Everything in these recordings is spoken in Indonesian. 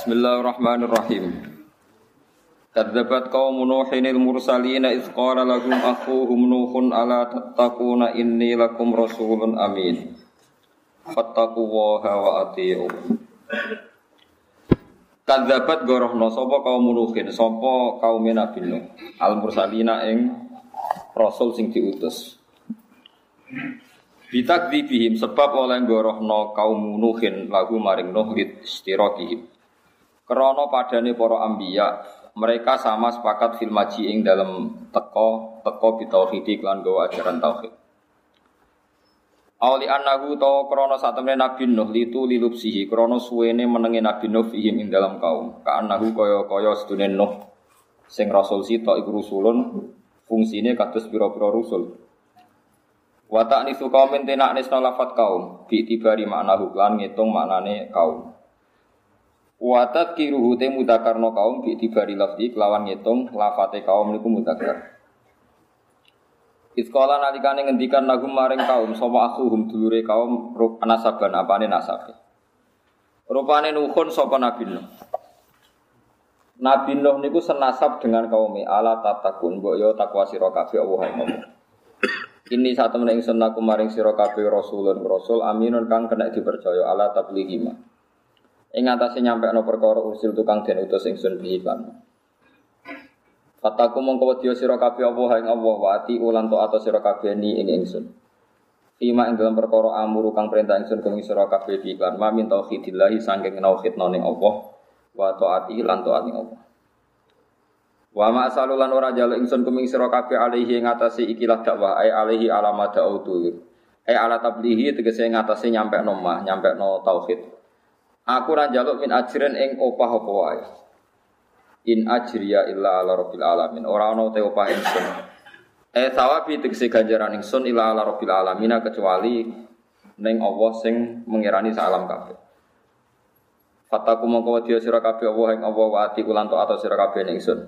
Bismillahirrahmanirrahim. Kadzabat qaumun Nuhin al-mursalin idz qala lahum akhuhum Nuhun ala tattaquna inni lakum rasulun amin. Fattaqullaha wa atii'un. Kadzabat gorohna sapa kaum Nuhin, sapa kaum Nabi Nuh, al-mursalina ing rasul sing diutus. Bitakdzibihim sebab oleh gorohna kaum Nuhin lagu maring Nuh istirakihim. Krana padane para anbiya, mereka sama sepakat fil maji ing dalem teka bitauhid lan gawa ajaran tauhid. Auli annahu ta krana satemene Nabi Nuh lilupsihi krana suwene menenge Nabi Nuh fihim ing dalem kaum. Ka annahu kaya sedune Nuh sing rasul sita iku rusulun fungsine kados pira-pira rusul. Wa ta'nisu qaumin tenaknisna lafat kaum bi tibari maknahu lan ngitung maknane kaum. Wa tadkiruhu te mudzakarna kaum bi tibari lafzi kelawan ngitung lafate kaum niku mudzakar. Iskala nalikane ngendikan nagum maring kaum sapa akhuhum dulure kaum nasaban apane nasabe. Rupane Nuhun sapa Nabi Nuh. Nabi Nuh niku senasab dengan kaum ala tatakun mbok yo takwa sira kabeh Allah ngomong. Ini saat temen ingsun aku maring sira kabeh rasulun rasul aminun kang kena dipercaya ala tablighima. Ing atase nyampekno perkara usil tukang den utus ingsun bihi lan. Fataku mongko wedya sira kabeh apa ing Allah wa ati ulan taat sira kabeh ni ing ingsun. Ima ing dalam perkara amuru kang perintah ingsun kang sira kabeh bihi lan ma min tauhidillah saking tauhidna ning Allah wa taati lan taat ning Allah. Wa ma asalulan ora jalu ingsun kuming sira kabeh alaihi ing atase ikilah dakwah ai alaihi alamat dautu. Ai ala tablighi tegese ing atase nyampekno tauhid. Aku ra njaluk min ajrin ing opah apa wae. In ajriya illa ala rabbil alamin. Ora ana te opah ingsun. Sawabi tegese ganjaran ingsun illa ala rabbil alamin kecuali ning Allah sing mengirani sak alam kabeh. Fataku mongko wedya sira kabeh Allah ing Allah wa ati ulan to atau sira kabeh ning ingsun.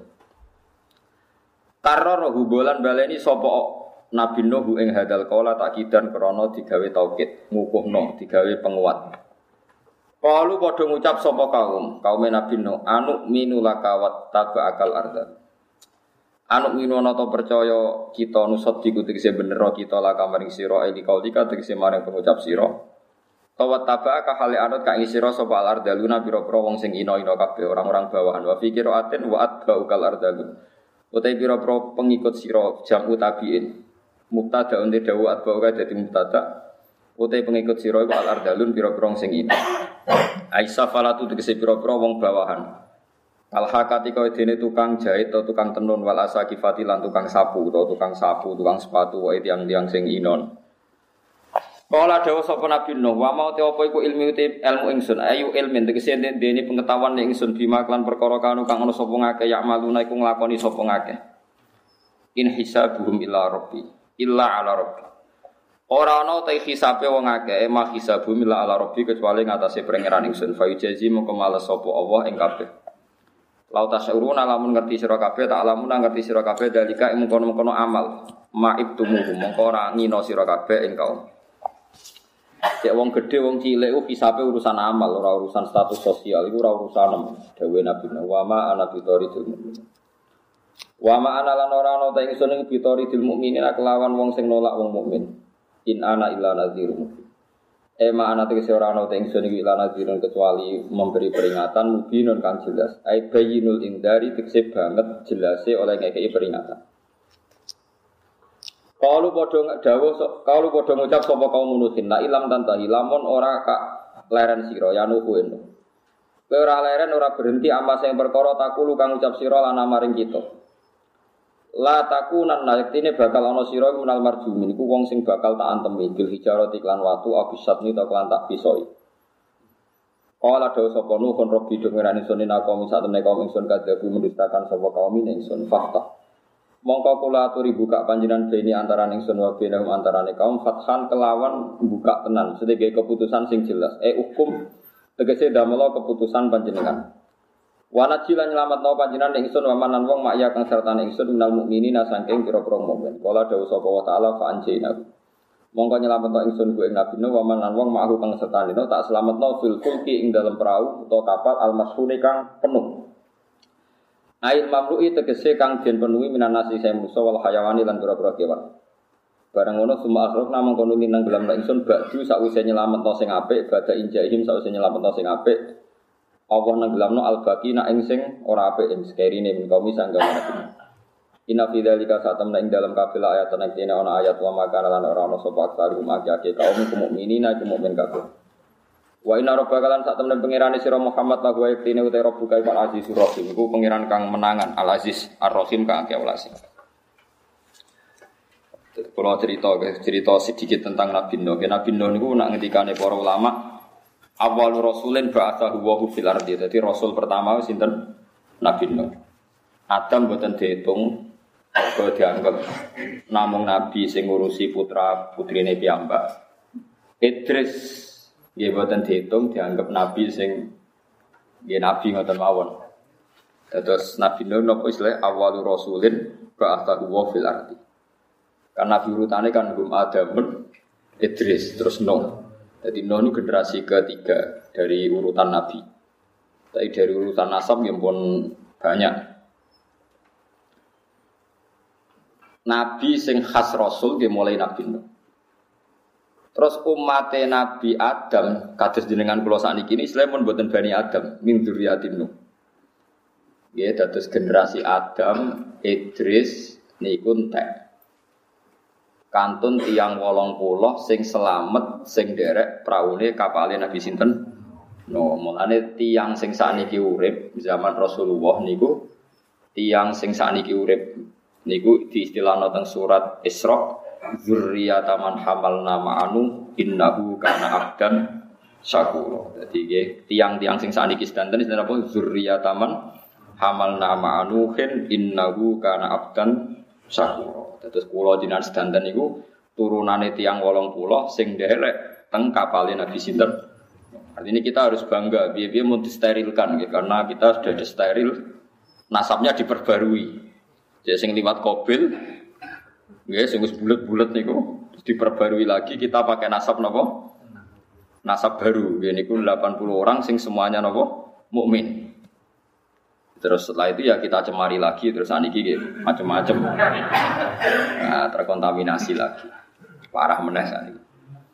Karro hubolan baleni sapa Nabi Nuh ing hadal qala takidan krana digawe taukid, ngukuhno digawe penguat. Qalu padha ngucap sapa kaum Nabi Nuh anu minulaka wat tabakal arda. Anu minono to percaya kita nusot diku tegese bener kita laka maring sira iki kaulika tegese maring pengucap sira. Tawat tabaka hale anut ka ing sira sapa al ardaluna pira-pira wong sing ina-ina kabeh orang-orang bawahan wa fikir aten wa atbaukal ardalun. Utai pira-pira pengikut sira jamu tabiin. Mubtada unte dawu atbauka dadi mubtada. Utai pengikut sira iku al ardalun pira-pira sing ina. Aisyah falatu tegese pira-pira wong bawahan. Al-hakati kaya dene tukang jahit atau tukang tenun wal asakifati lan tukang sapu, tukang sepatu wae tiang-tiang sing inon. Kala dawuh sapa Nabi Nuh, wa mau te apa iku ilmu ingsun, ayu ilmin tegese dene pengetahuan ingsun bima lan perkara kanu kang ana sapa ngake ya maluna iku nglakoni sapa ngake. In hisabuhum illa ala rabbi. Ora ana ta hisabe wong akeh, mah hisabu mila ala rabbi kecuali ngatasé pangeran ingsun. Fa yujazi mongko males sapa Allah ing kabeh. Lau tasyuruna lamun ngerti sira kabeh, tak lamun ngerti sira kabeh dalika ing mengkono-mengkono amal. Ma'ibtumuhum mongko ora ngino sira kabeh ing kaum. Cek wong gedhe wong cilik ku hisabe urusan amal, ora urusan status sosial, iku ora urusan dawuh Nabi wa ma ana bitoridul mukmin. Wa ma ana lan ora ana ta ingsun ing bitoridul mukminin kelawan wong sing nolak wong mukmin. In ana illa nadhirun. Ma ana tegese ora ana te ingsun iki illa nadhirun kecuali memberi peringatan mubinun kang jelas. Ai bayyinul indari tegese banget jelase oleh ngekeki peringatan. Kalu padha ngucap sapa kaum Nuhin la ilam tantahi lamun ora kak leren sira ya nuhu eno. Kowe ora leren ora berhenti amas sing perkara takulu kang ngucap sira lan maring kita. La takunan naliktine bakal ana sira menal marjumin iku wong sing bakal tak antemi bil hijarati iklan watu abisatni ta klan tak pisoi. Kala dawuh sapa Nuhun Rabbi dengerani sunin aku sak temne kaum ingsun kadhabu mendustakan sapa kaum ingsun fakta. Mongko kula aturi buka panjenengan beni antarané ingsun wa benahum antarané kaum fathan kelawan buka tenan sedaya keputusan sing jelas hukum tegese damela keputusan panjenengan. Wana cilan nyelametno panjenengan ingsun wa manan wong makya kang sertane ingsun minal mukminina saking pira-pira mukmin. Kala dawuh sapa wa taala fa anjina. Mongko nyelametno ingsun ku ing Nabi Nuh wa man lan wong ma'hu kang sertane tak slametno fil fulki ing dalam perahu utawa kapal al-mashhuni kang penuh. Ail mamlu'i tegese kang den penuhi minan nasi saya musa wal hayawani lan pira-pira kewan. Barang ngono summa akhrok namung kono minang gelam ingsun ba'du sakwise nyelametno sing apik badha injahim sakwise nyelametno sing apik. Allah nenggelamno al-baqi nak ing sing ora apik ing sekerine min kaum sangga Nabi. Inna fi dzalika satamna ing dalam kabeh ayat ana kene ana ayat wa maka lan ora ana sapa aksaru makake kaum mukminina mukmin kabeh. Wa inna rabbaka lan satamna pangerane sira Muhammad la wa yaktine uta rabbuka al azizur rahim iku pangeran kang menangan al aziz ar-rahim kang akeh welas. Kalau cerita sedikit tentang Nabi Nuh. Nabi Nuh niku nak ngendikane para ulama awal rasulin ba'atsahu wa fil ardi. Dadi rasul pertama sinten Nabi Nuh. Adam boten diitung kok dianggap namung nabi sing ngurusi putra putrine piyambak. Idris nggih boten diitung dianggap nabi sing nggih nabi ngoten mawon. Terus Nabi Nuh napa istilah awal rasulin ba'atsahu wa fil ardi. Karena nabi urutane kan Adamun, Idris terus Nuh. Jadi Nuh ini generasi ketiga dari urutan nabi. Tapi dari urutan nasab yang pun banyak. Nabi sing khas Rasul dia mulai Nabi Nuh. Terus umatnya Nabi Adam kados jenengan kula sakniki ini Sulaiman mboten Bani Adam min dzurriyyatin Nuh. Nggih dados generasi Adam, Idris niku entek. Kantun tiyang 80 sing selamat sing derek praune kapale Nabi sinten? Nuh. Mulane tiyang sing sakniki urip zaman Rasulullah niku tiyang sing sakniki urip niku diistilahno teng surat Isra dzurriyyatan man hamalna ma'anu innahu kana abdan syakura. Dadi nggih tiang-tiang sing sakniki sedanten istilah apa dzurriyyatan man hamalna ma'anu innahu kana abdan syakura. Terus kula jenengan sedanten niku turunane tiang 80 sing nderek teng kapale Nabi sinten. Artinya kita harus bangga piye-piye mun disterilkan karena kita sudah disteril nasabnya diperbarui. Jadi sing liwat kobil, nggih sing wis bulet-bulet niku diperbarui lagi kita pakai nasab napa? Nasab baru. Nggih niku 80 orang sing semuanya napa? Mukmin. Terus setelah itu ya kita cemari lagi terus saniki nggih macam-macam. Nah, terkontaminasi lagi. Parah meneh saniki.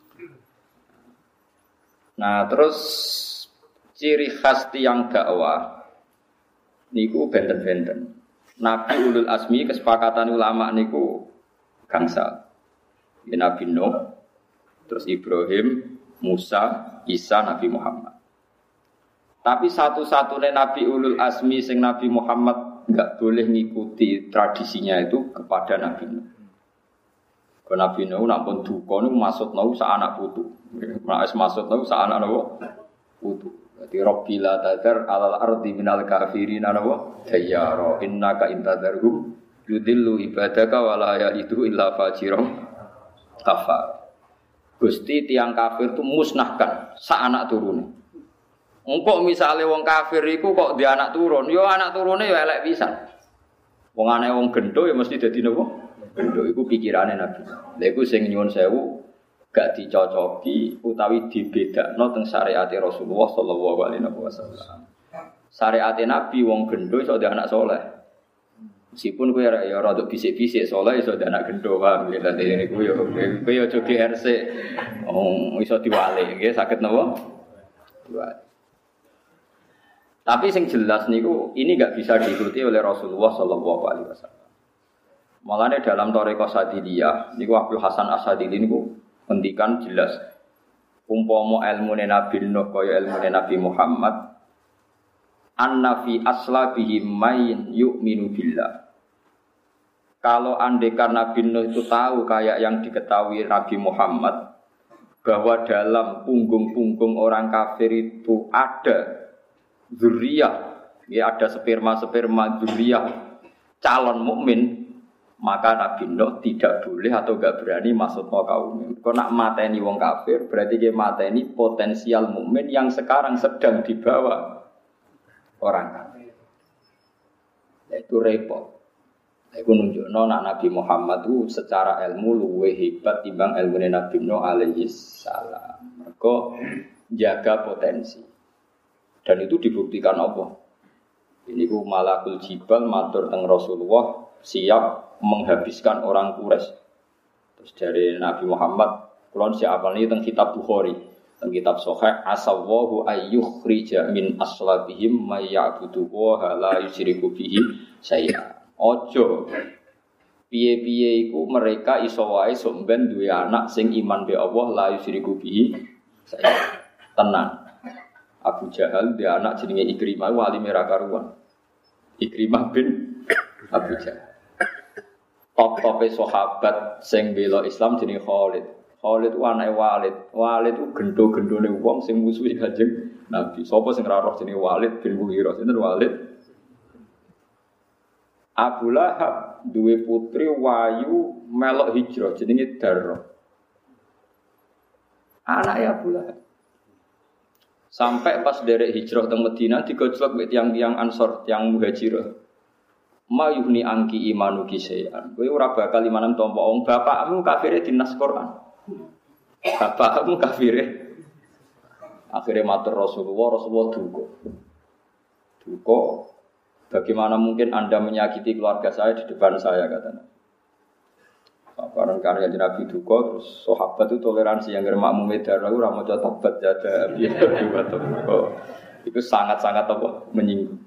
Nah, terus ciri khas tiyang dakwah niku benten-benten. Nabi ulul asmi kesepakatan ulama niku gangsal. Ya, Nabi Nuh, terus Ibrahim, Musa, Isa, Nabi Muhammad. Tapi satu-satunya Nabi ulul asmi sing Nabi Muhammad enggak boleh ngikuti tradisinya itu kepada Nabi Nuh. Kalau Nabi Nuh nampun duka niku maksudna sak anak putu. Nek maksudna sak anak napa? Putu. Jadi Rabbila tadar alal ardi minal kafirin anawa tayyara innaka intadarhum yudillu ibadaka wala yaidu illa fajiram kafar. Gusti tiang kafir itu musnahkan sak anak turune. Engko misale wong kafir iku kok di anak turun, yo anak turune yo elek pisan. Wong aneh wong gendho ya mesti dadi napa? Gendho iku pikirane Nabi. Lha iku sing nyuwun sewu gak dicocoki utawi dibedakno teng syariat Rasulullah sallallahu alaihi wasallam. Syariat Nabi wong gendho iso dadi anak saleh. Meskipun kowe ya rada bisik-bisik saleh iso dadi anak gendho wae lha niku yo kowe yo aja GRC. Iso diwalik nggih saged napa? Diwalik. Tapi sing jelas niku ini enggak bisa diikuti oleh Rasulullah sallallahu alaihi wasallam. Malane dalam Thariqah Sadiliyah niku Abdul Hasan As-Sadili niku ngendikan jelas umpama ilmune Nabi Nuh kaya ilmune Nabi Muhammad anna fi aslabihi may yu'minu billah. Kalau andekan Nabi Nuh itu tahu kayak yang diketahui Nabi Muhammad bahwa dalam punggung-punggung orang kafir itu ada dzurriyah, ya ada sperma-sperma dzurriyah calon mukmin, maka Nabi Nuh tidak boleh atau enggak berani masuk ke kaum. Kalau nak mateni wong kafir, berarti dia mateni potensial mukmin yang sekarang sedang dibawa orang kafir. Itu repot. Iku nunjukno nak Nabi Muhammad itu secara ilmu luwih hebat timbang ilmune Nabi Nuh alaihi salam. Mergo jaga potensi. Dan itu dibuktikan Allah. Ini ku malakul jibal matur teng Rasulullah siap menghabiskan orang Quraisy. Terus dari Nabi Muhammad kulon siap ini teng kitab Bukhari, teng kitab Sahih asawahu ayyukhrija min aslabihim may ya'budu wa la yusyriku bihi syai'a. Ojo piye-piye iku mereka iso wae sok ben duwe anak sing iman be Allah la yusyriku bihi syai'a. Tenang. Abu Jahal dia anak jenenge Ikrimah wali merah karuan. Ikrimah bin Abu Jahal. Top-tope sahabat sing bela Islam jenenge Khalid. Khalid ku anake Walid. Walid ku gendho-gendhone wong sing musuhi Kanjeng Nabi. Sapa sing ora roh jenenge Walid bin Mughirah. Sinten Walid? Abu Lahab duwe putri wayu melok hijrah jenenge Darrah. Anake Abu Lahab. Sampai pas derek hijrah teng Madinah digojlok mek tiyang-tiyang Ansor, tiyang Muhajirah. Mayuhni angki imanu kisean. Kowe ora bakal imanan tampa wong bapakmu kafire dinas Quran. Bapakmu kafire. Akhirnya matur Rasulullah duka. Bagaimana mungkin Anda menyakiti keluarga saya di depan saya katanya. Barang karya Nabi duka terus sahabat itu toleransi yang makmum medar ora maca tabat jada biya itu sangat-sangat apa menyinggung.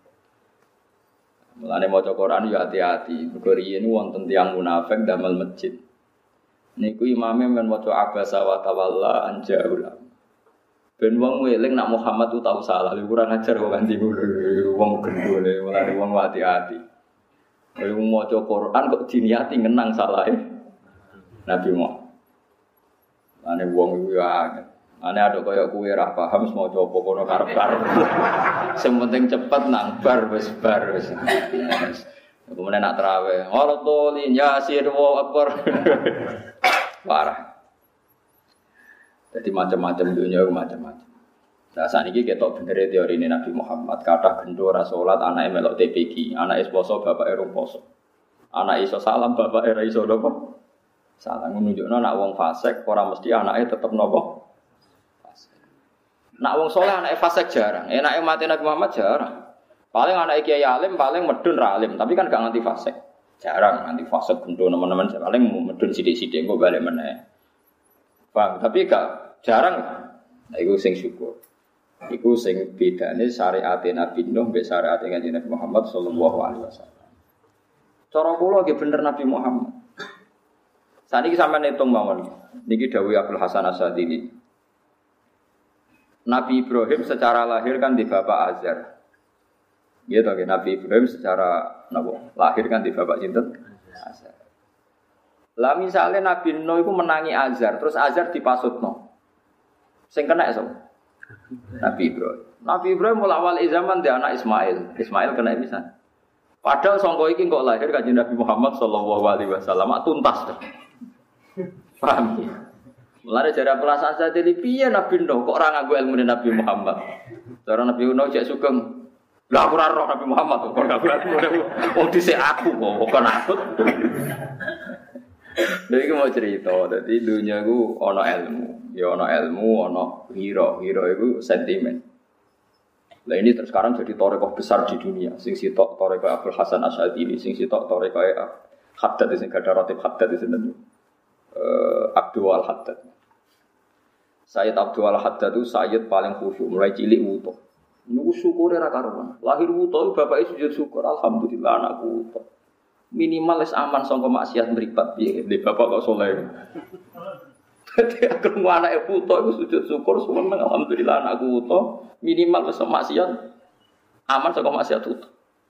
Mulane maca Quran ya hati-hati. Mergo riyen wonten tiyang munafik damel masjid. Niku imame men maca abasa wa tawalla anjaul. Ben wong eling nak Muhammad tu tau salah, kurang ajar kok ganti wong gendone, mulane wong hati-hati. Kowe maca Quran kok diniati ngenang salahe Nabi Muhammad. Ane wong iku ya ane ada kaya kowe ra paham maca apa kono karep-karep. Sing penting cepet nang bar wis. Kemudian nak tarawih, Al-Tolin Yasir wa Akbar. Parah. Jadi macam-macam dunia macam-macam. Nah saat ini kita bener teori ini Nabi Muhammad kata gendora sholat anak melok TPG, anak poso bapak erung poso, anak iso salam bapak era iso nopo salam menunjukkan anak wong fasik orang mesti anaknya tetap nopo. Nak wong soleh anak fasik jarang, enak mati Nabi Muhammad jarang. Paling anak kiai alim paling medun ra alim, tapi kan gak nganti fasik. Jarang nganti fasik gendho teman-teman paling medun sithik-sithik engko balik meneh. Paham, tapi gak jarang. Nah, iku sing syukur. Iku sing bedane syariat Nabi Nuh mbek syariat Kanjeng Nabi Muhammad sallallahu alaihi wasallam. Cara kula nggih bener Nabi Muhammad. Saniki sampeyan hitung mawon. Niki dawuh Abdul Hasan As-Sadili. Nabi Ibrahim secara lahir kan di bapak Azar. Gitu kan Nabi Ibrahim secara lahir kan di bapak sinten? Azar. Lah misalnya Nabi Nuh itu menangi Azar, terus Azar dipasutno. Sing kena iso. Nabi Ibrahim. Nabi Ibrahim mulai awal zaman dia anak Ismail. Ismail kena bisa. Padahal sangko iki kok lahir kanjeng Nabi Muhammad sallallahu alaihi wasallam tuntas. Paham ya? Mulane jare pelasan sadhe piye Nabi Nuh kok ora nganggo ilmu Nabi Muhammad. Cara Nabi Nuh cek sugeng. Lah aku ora roh Nabi Muhammad kok ora wong dhisik aku kok aku. Jadi mau cerita, jadi dunia itu ono ilmu, ya ono ilmu, ono hero itu sentimen. Nah ini sekarang jadi torekoh besar di dunia. Sing sitok torekoh Abdul Hasan Asy'adili, sing sitok torekoh Haddad, sing gada ratib Haddad di sini. Abdul Al-Haddad. Sayyid Abdul Al-Haddad itu Sayyid paling khusyuk, mulai cilik wuto. Ini syukur era karuan. Lahir wuto, bapaknya sujud syukur, alhamdulillah anakku wuto. Minimal es aman sangka maksiat mripat piye ndek bapak kok saleh. Dadi aku anake putu iku sujud syukur seneng alhamdulillah anakku putu minimal wis maksiat aman sangka maksiat putu.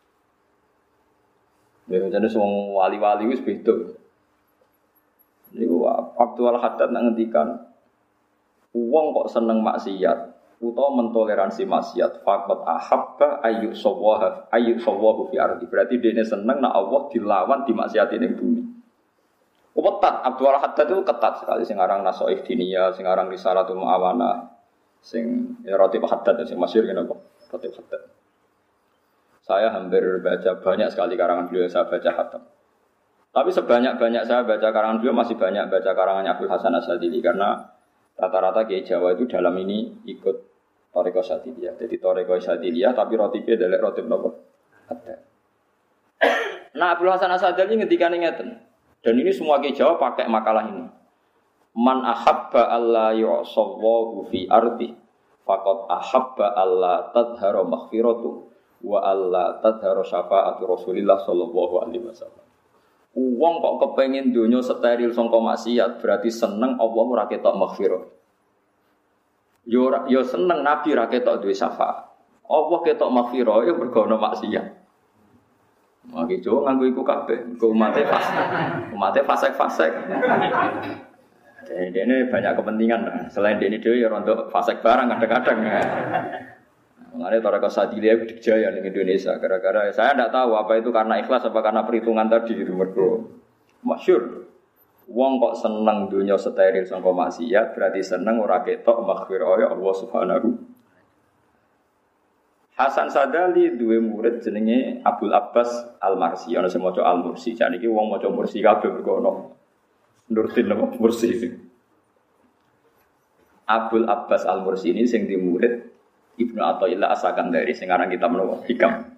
Ya jane wong wali-wali wis beda. Niku Abdul Haddad ngendikan wong kok seneng maksiat utawa mentoleransi maksiat faqat ahabba ayyuk sawahu fi ardi berarti dene seneng nek Allah dilawan dimaksiati ning bumi. Ketat Abdul Haddad itu ketat sekali sing aran Nasaih Diniyah, sing aran Risalatul Muawana, sing Ratib Haddad sing masyhur ngene kok Ratib Haddad. Saya hampir baca banyak sekali karangan beliau yang saya baca khatam. Tapi sebanyak-banyak saya baca karangan beliau masih banyak baca karangannya Abdul Hasan Asyadzili karena rata-rata Kiai Jawa itu dalam ini ikut Thariqah Syadziliyah. Jadi Thariqah Syadziliyah tapi rotibnya adalah rotib nopo. Ada. Nah Abdul Hasan Asyadzili ngendikan ngeten. Dan ini semua Kiai Jawa pakai makalah ini. Man ahabba alla yu'sallahu fi ardi faqad ahabba alla tadhara maghfiratu wa alla tadhara syafaatu Rasulillah sallallahu alaihi wasallam. Wong kok kepengin donya steril sangka maksiat berarti seneng Allah ora ketok maghfirah. Yo seneng Nabi ora ketok duwe syafaat. Allah ketok maghfirah ya mergo ana maksiat. Maki jo nganggo iku kabeh, engko umate fasik. Jadi ini banyak kepentingan. Selain ini dhewe ya rontok fasik barang kadang-kadang. Mengenai Thariqah Syadziliyah dijaya di Indonesia gara-gara saya tidak tahu apa itu karena ikhlas apa karena perhitungan tadi itu mergo masyhur. Wong kok seneng dunya steril sangka maksiat berarti seneng ora ketok maghfirah ya Allah Subhanahu. Hasan Sadali duwe murid jenenge Abdul Abbas Al-Marsi ana sing maca Al-Mursi. Jan iki wong maca Mursi kabeh mergo ono Nurdin apa Mursi. Abdul Abbas Al-Mursi ini sing di murid Ibnu Athaillah As-Sakandari sing aran kitab menapa Hikam.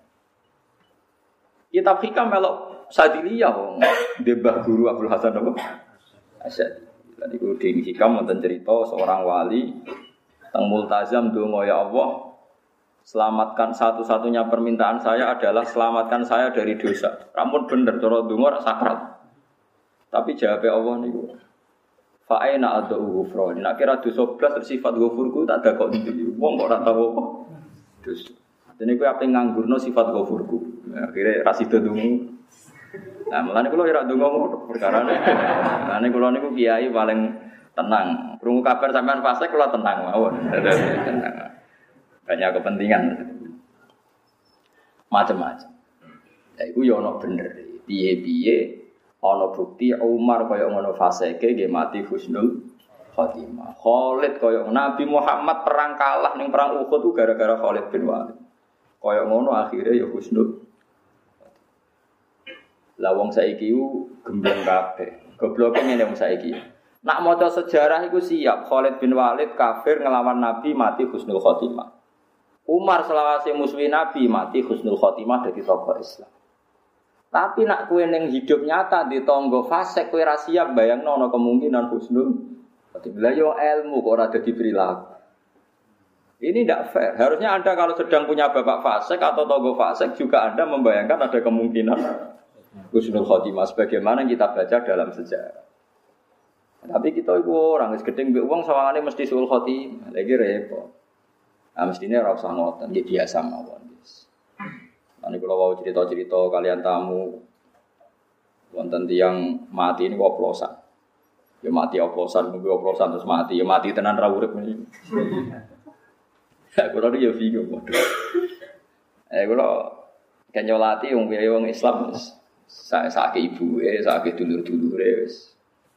Kitab Hikam melok Sadiliyah wong Mbah Guru Abdul Hasan apa? Asyad. Lan iku di Hikam wonten cerita seorang wali teng multazam donga ya Allah selamatkan satu-satunya permintaan saya adalah selamatkan saya dari dosa. Rampun bener cara donga ora sakral. Tapi jawab Allah niku fa aina adu ghufran. Nek kira dosa blas sifat ghafurku tak ada kok ndi. Wong kok ora tau apa. Dosa. Dene kowe ape nganggurno sifat ghafurku. Akhire ra sida dungu. Nah, mulane kula ora ndonga ngono perkarane. Mulane kula niku kiai paling tenang. Krungu kabar sampean fase kula tenang mawon. Tenang. Banyak kepentingan. Macam-macam. Ya iku yo ono bener. Piye-piye ana bukti Umar kaya ngono faseke nggih mati husnul khotimah. Khalid kaya Nabi Muhammad perang kalah ning perang Uhud ku gara-gara Khalid bin Walid. Kaya ngono akhire ya husnul. Lah wong saiki ku gembleng kabeh. Gobloke ngene wong saiki. Nak maca sejarah iku siap Khalid bin Walid kafir ngelawan Nabi mati husnul khotimah. Umar selawase musuhi Nabi mati husnul khotimah dadi tokoh Islam. Tapi nak kowe ning hidup nyata di tangga fasik kowe ra siap bayangno ana kemungkinan husnul khotimah. Yo ilmu kok ora dadi perilaku. Ini tidak fair. Harusnya Anda kalau sedang punya bapak fasik atau tangga fasik juga Anda membayangkan ada kemungkinan husnul khotimah sebagaimana kita baca dalam sejarah. Tapi kita itu orang wis gedeng mbek wong sawangane mesti sul khotimah. Lagi repot. Ah mestine ora usah ngoten, nggih biasa mawon. Ane kula wau cerita-cerita kalian tamu wonten tiyang mati niku oplosan. Ya mati oplosan, mungkin oplosan terus mati, ya mati tenan ra urip niku. Kula iki ya bingung waduh. Kula kenyolati wong Islam sak ibuke, sak dulur-dulure wis.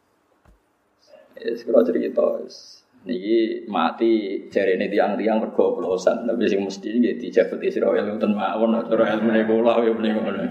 Kula cerita wis. Niki mati jarene tiang-tiang mergo oplosan, tapi sing mesti nggih dijabut Israil wonten mawon cara ilmune kula ya menika ngono.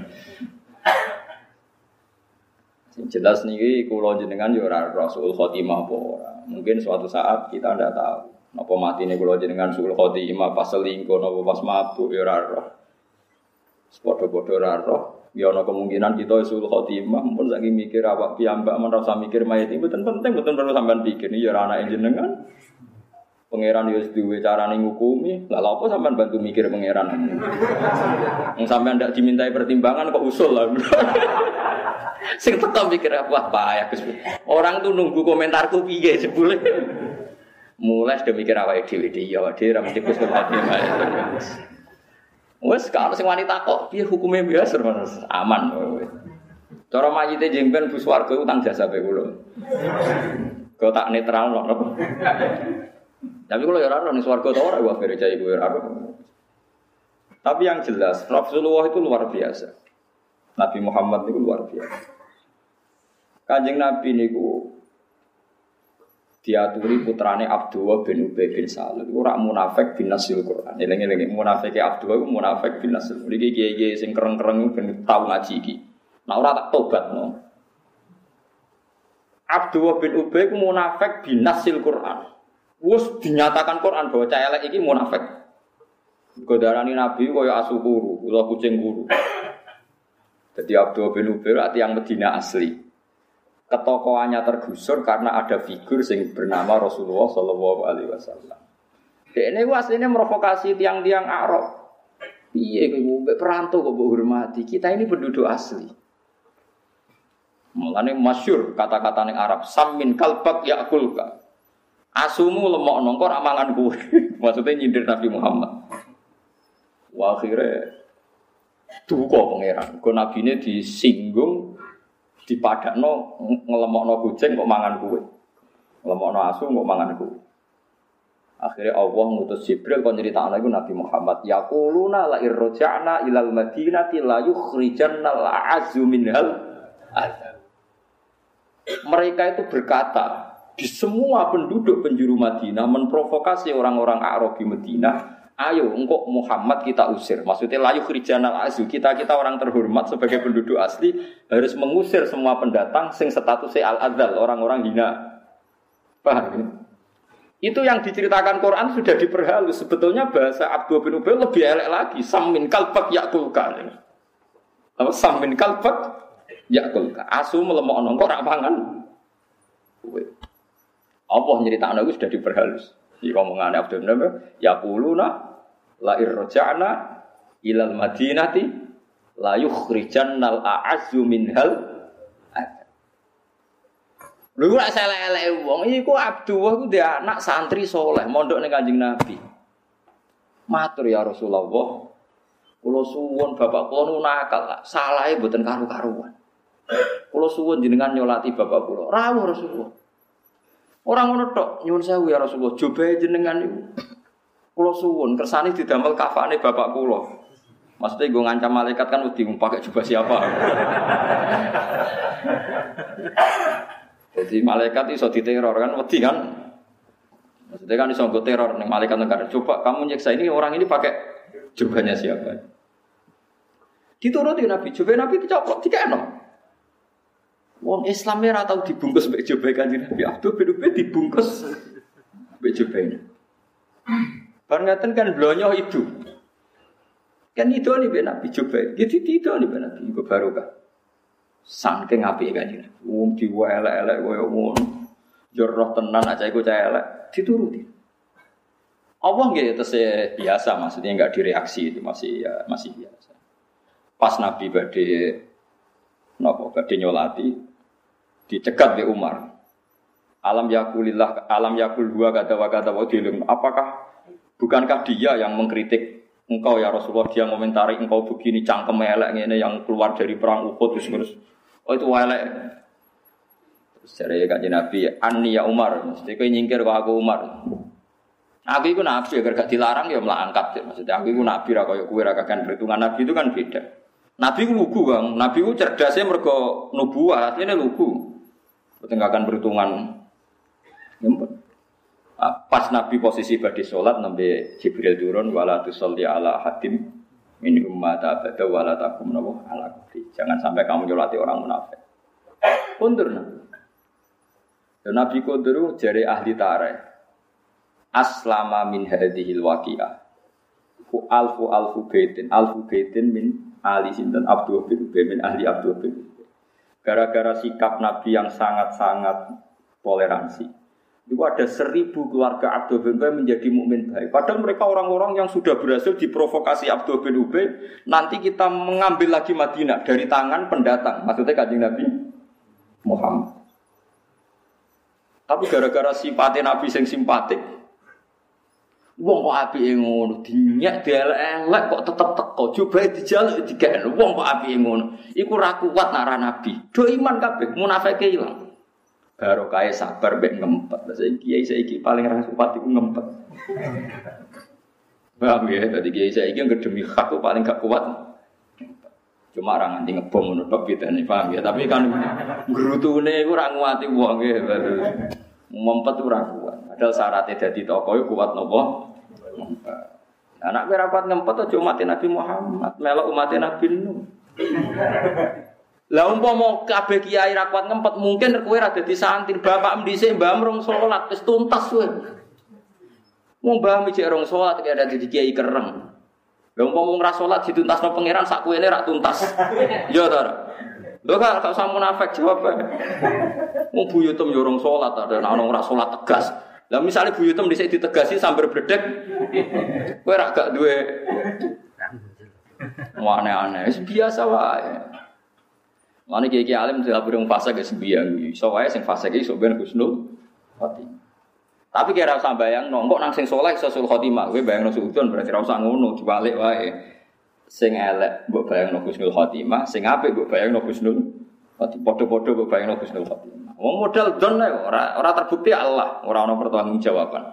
Sing jelas niki kula jenengan ya ora Rasul Khotimah apa ora. Mungkin suatu saat kita ndak tahu napa matine kula jenengan Rasul Khotimah pas selingkuh napa pas mabuk ya ora roh. Padha-padha ora roh. Ya ana kemungkinan kita Rasul Khotimah pun saking mikir awak piyambak men rasa mikir mayit iki mboten penting, mboten perlu sampean pikir. Ya ora anake jenengan. Pangeran yo wis duwe carane ngukumi. Lah lha apa sampean bantu mikir pangeran? Wong sampean ndak dimintai pertimbangan kok usul lah. Sing teko mikir apa ya Gus. Orang tuh nunggu komentarku piye sebule. Mulai sudah mikir awake dhewe ya awake dhewe ra mesti Gus Khotimah. Wes kalau sing wanita kok piye hukume biasa aman. Cara mayite jengben bus warga utang jasa bae kula. Kok tak netral kok. Tapi kula ya ora ning swarga ta ora wae gereja iku ora. Tapi yang jelas Rasulullah itu luar biasa. Nabi Muhammad itu luar biasa. Kanjeng Nabi niku diaturi putrane Abdullah bin Ubay bin Salul. Ora munafik bin nasil Quran. Eling-eling munafike Abdullah iku munafik bin nasil. Iki kiye-kiye sing kereng-kereng ben tau ngaji iki. Nah ora tak tobatno. Abdullah bin Ubay ku munafik bin nasil Quran. Wes dinyatakan Quran bahwa cah elek iki munafik. Godarani Nabi kaya asu kuru, ula kucing kuru. Jadi Abdullah bin Ubay ati yang Medina asli. Ketokohannya tergusur karena ada figur yang bernama Rasulullah sallallahu alaihi wasallam. Dekne ku asline provokasi tiang-tiang Arab. Piye kowe mbek perantau kok mbok hormati? Kita ini penduduk asli. Mulane masyhur kata-kata ning Arab, "Sammin kalbak yakulka." Asumu lemokno kok ora mangan kowe. Maksudnya nyindir Nabi Muhammad. Wa akhire duka pangeran. Kok nabine disinggung, dipadakno ngelemokno kucing kok mangan kowe. Ngelemokno asu kok mangan kowe. Akhirnya Allah ngutus Jibril kon nyritakno iku Nabi Muhammad, yaquluna la irja'na ilal madinati la yukhrijanna al-'azzu minhal azab. Mereka itu berkata, di semua penduduk penjuru Madinah memprovokasi orang-orang Arab di Madinah, ayo engkau Muhammad kita usir. Maksudnya layu khrijanal azu, kita orang terhormat sebagai penduduk asli harus mengusir semua pendatang sing statusnya al-adzal, orang-orang hina. Paham ya? Itu yang diceritakan Quran sudah diperhalus. Sebetulnya bahasa Abdullah bin Ubay lebih elek lagi. Sammin kalbak yakulka. Apa sammin kalbak yakulka. Asu melemokno kok ora mangan. Allah nyeritakno itu sudah diperhalus. Iki omongane Abdul Nabi, yaquluna la irja'na ilal madinati la yukhrijannal a'azzu minhal. Lha ora elek-elek wong iku Abdullah ku dia anak santri saleh mondok ning Kanjeng Nabi. Matur ya Rasulullah, kula suwun bapak kula nu nakal, salahe mboten karu-karuan. Kula suwun jenengan nyolati bapak kula. Rawuh Rasulullah. Ora ngono tok, nyuwun sewu ya Rasulullah, jobahe jenengan niku. Kula suwun kersane didamel kafane bapak kula. Maksudnya gue ngancam malaikat kan wedi pakai jubah siapa. Jadi malaikat iso diteror kan wedi kan. Maksudnya kan iso nggo teror ning malaikat negara. Coba kamu nyiksa ini orang ini pakai jubahnya siapa? Dituruti Nabi, jubah Nabi dicoplok dikeno. Wong Islamnya ora tau dibungkus mbek jubah Kanjeng Nabi. Abdul bin Ubay dibungkus mbek jubahnya. Bar ngaten kan blonyo itu. Kan itu nih mbek Nabi jubah. Gitu itu nih mbek Nabi iku barokah. Saking apike Kanjeng Nabi. Wong diwelek-elek koyo ngono. Joroh tenan aja iku cah elek dituruti. Allah nggih tesih biasa maksudnya enggak direaksi itu masih biasa. Pas Nabi badhe nyolati dicegat di Umar. Alam yakul dua kata wa dilum. Apakah bukankah dia yang mengkritik engkau ya Rasulullah, dia komentari engkau begini cangkem elek ngene yang keluar dari perang Uhud terus. Oh itu elek. Terus jare Kanjeng Nabi, "Anni ya Umar." Mesti kowe nyingkir kok aku Umar. Aku iku nabi agar gak dilarang ya melangkat. Maksudnya aku iku nabi ra koyo kowe ra kakan perhitungan nabi itu kan beda. Nabi ku lugu, Kang. Nabi ku cerdasnya mergo nubuwah, asline lugu. Bertengahkan perhitungan. Pas Nabi posisi badhe salat nembe Jibril turun wala tusolli ala hadim min ummata abada wala takum nabu ala kufri. Jangan sampai kamu nyolati orang munafik. Kundur. Dan Nabi kundur jare ahli tarikh. Aslama min hadhil waqi'ah. Alfu baitin min ahli sinten Abdullah bin Ubay min ahli Abdullah bin Ubay. Gara-gara sikap Nabi yang sangat-sangat toleransi. Itu ada 1000 keluarga Abdullah bin Ubay menjadi mukmin baik. Padahal mereka orang-orang yang sudah berhasil diprovokasi Abdullah bin Ubay. Nanti kita mengambil lagi Madinah dari tangan pendatang. Maksudnya Kanjeng Nabi Muhammad. Tapi gara-gara sifatnya Nabi yang simpatik, wong kok apike ngono, dinyak dielek-elek kok tetep teko, coba dijaluk digekno. Wong kok apike ngono. Iku ra kuat nara Nabi. Do iman kabeh, munafike ilang. Barokah sabar mbek ngempet. Saiki paling ra kuat iku ngempet. Paham ya? Dadi kiai saiki yang demi hak itu paling gak kuat. Cuma ra nganti ngebom ngono tok pitane, paham ya? Tapi kan grutune iku ra nguati wong nggih. Ngempet ora kuat. Padahal syaratnya dadi tokoh kuat napa? Anak kowe rapat ngempet aja umat Nabi Muhammad, melok umat Nabi Nuh. Lah umpama kabeh kiai ra kuat ngempet, mungkin kowe ra dadi santri, bapak dhisik mbah rong salat wis tuntas kowe. Wong mbah mijik rong salat kaya dadi kiai kereng. Lah umpama ora salat dituntasno pangeran sak kuwene ra tuntas. Ya ta ora? Lho gak usah munafik jawab. Wong buyutem yo rong salat ada ana ora salat tegas. Lah misale buyutem dhisik ditegasi sambar bledek. Kowe ra gak duwe aneh-aneh, biasa wae. Mane kiai alim dilapori wong fasik wis biang, iso wae sing fasik iki sok ben husnul khotimah. Tapi kira usah bayangno, kok nang sing saleh iso husnul khotimah, kowe bayangno suudon berarti ora usah ngono, dibalik wae. Sing elek mbok bayangno husnul khotimah, sing apik mbok bayangno husnul khotimah. Padha-padha mbok bayangno husnul khotimah. Wong modal don ora terbukti Allah, ora ana pertanggungjawaban.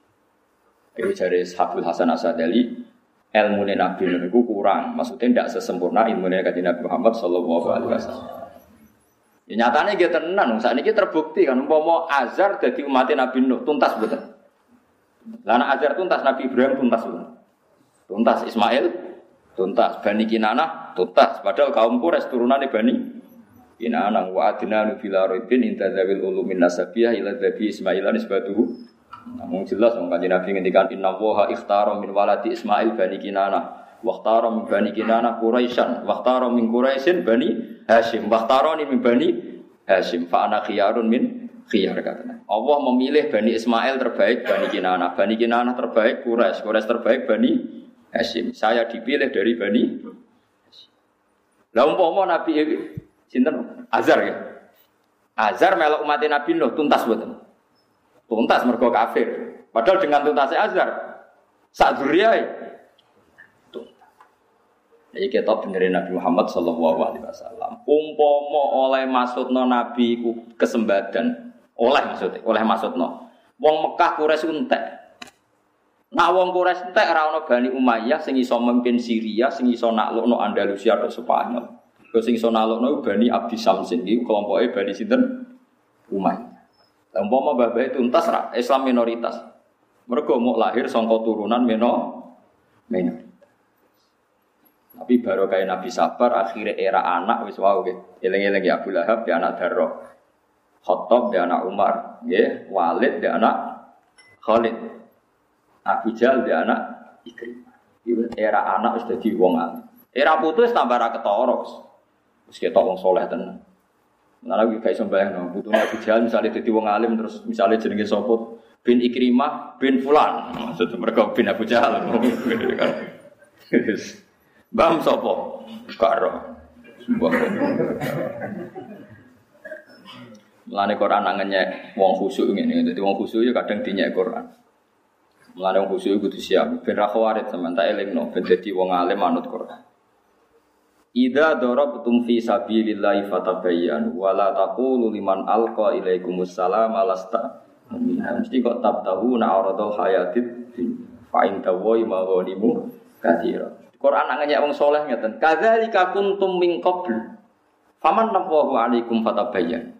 Iki jare Habib Hasan Asadali, ilmune Nabi niku kurang, maksudnya tidak sesempurna ilmune kanjeng Nabi Muhammad sallallahu alaihi wasallam. Ya nyatane nggih tenan, sakniki terbukti kan umpama Azar dadi umat Nabi Nuh tuntas mboten. Lah nek Azar tuntas Nabi Ibrahim tuntas mboten. Tuntas Ismail tuntas, Bani Kinanah tuntas, padahal kaum Quraisy turunane Bani Kinanah wa adnanu fil arabin intazawil ulumin nasabiyah ila dhabi Ismail nisbatuhu. Namun jelas wong kanjeng Nabi ngendikan inna waha ikhtara min waladi Ismail Bani Kinanah wa ikhtara min Bani Kinanah Quraisyan wa ikhtara min Quraisyin Bani Hashim wa ikhtarani min Bani Hashim fa ana khiyarun min khiyar katanya. Allah memilih Bani Ismail terbaik Bani Kinanah terbaik Quraisy terbaik Bani Hashim. Saya dipilih dari Bani Hashim. Lah umpama Nabi sinten Azar ya. Azar melok umat Nabi Nuh tuntas mboten. Tuntas mergo kafir. Padahal dengan tuntasnya Azhar sak dzurriyae tuntas. Iki ketok benerin Nabi Muhammad sallallahu alaihi wasallam. Umpama oleh maksudna Nabi ku kesembadan, oleh maksudna. Wong Mekah Quraisy entek. Nak wong Quraisy entek ora ana Bani Umayyah sing iso memimpin Syria, sing iso naklukno Andalusia atau Spanyol. Sing iso naklukno Bani Abdi Samsin iki kelompoke Bani sinten? Umayyah. Umpama babae tuntas ra Islam minoritas. Mergo mau lahir saka turunan minoritas. Tapi baru kayak Nabi sabar akhirnya era anak wis wae nggih. Eling-eling ya Abu Lahab dia anak Darrah. Khattab dia anak Umar, nggih. Walid dia anak Khalid. Abu Jahal dia anak Ikrimah. Iki era anak wis dadi wong alim. Era putu wis tambah ra ketara wis ketok wong saleh tenan. Nah lagi kayak sembahyang, butuh Nabi Jahal misalnya jadi wong alim terus misalnya jenenge sopot bin Ikrimah bin Fulan, maksudnya mereka bin Abu Jahal, bam sopo, karo, melane Quran nangennya wong khusyuk ini, jadi wong khusyuk ya kadang dinyek Quran, melane wong khusyuk itu siap, bin Rakhawarid sementara elingno, bin jadi wong alim manut Quran. Idza darabtum fi sabilillahi fatabayyanu wa la taqulu liman alqa ilaikumus salam alasta mesti kok tabtahuna aradul hayatid fa in tawai maghanimu katsira. Quran nangnya wong saleh ngeten kadzalika kuntum min qabl faman nafahu alaikum fatabayyan.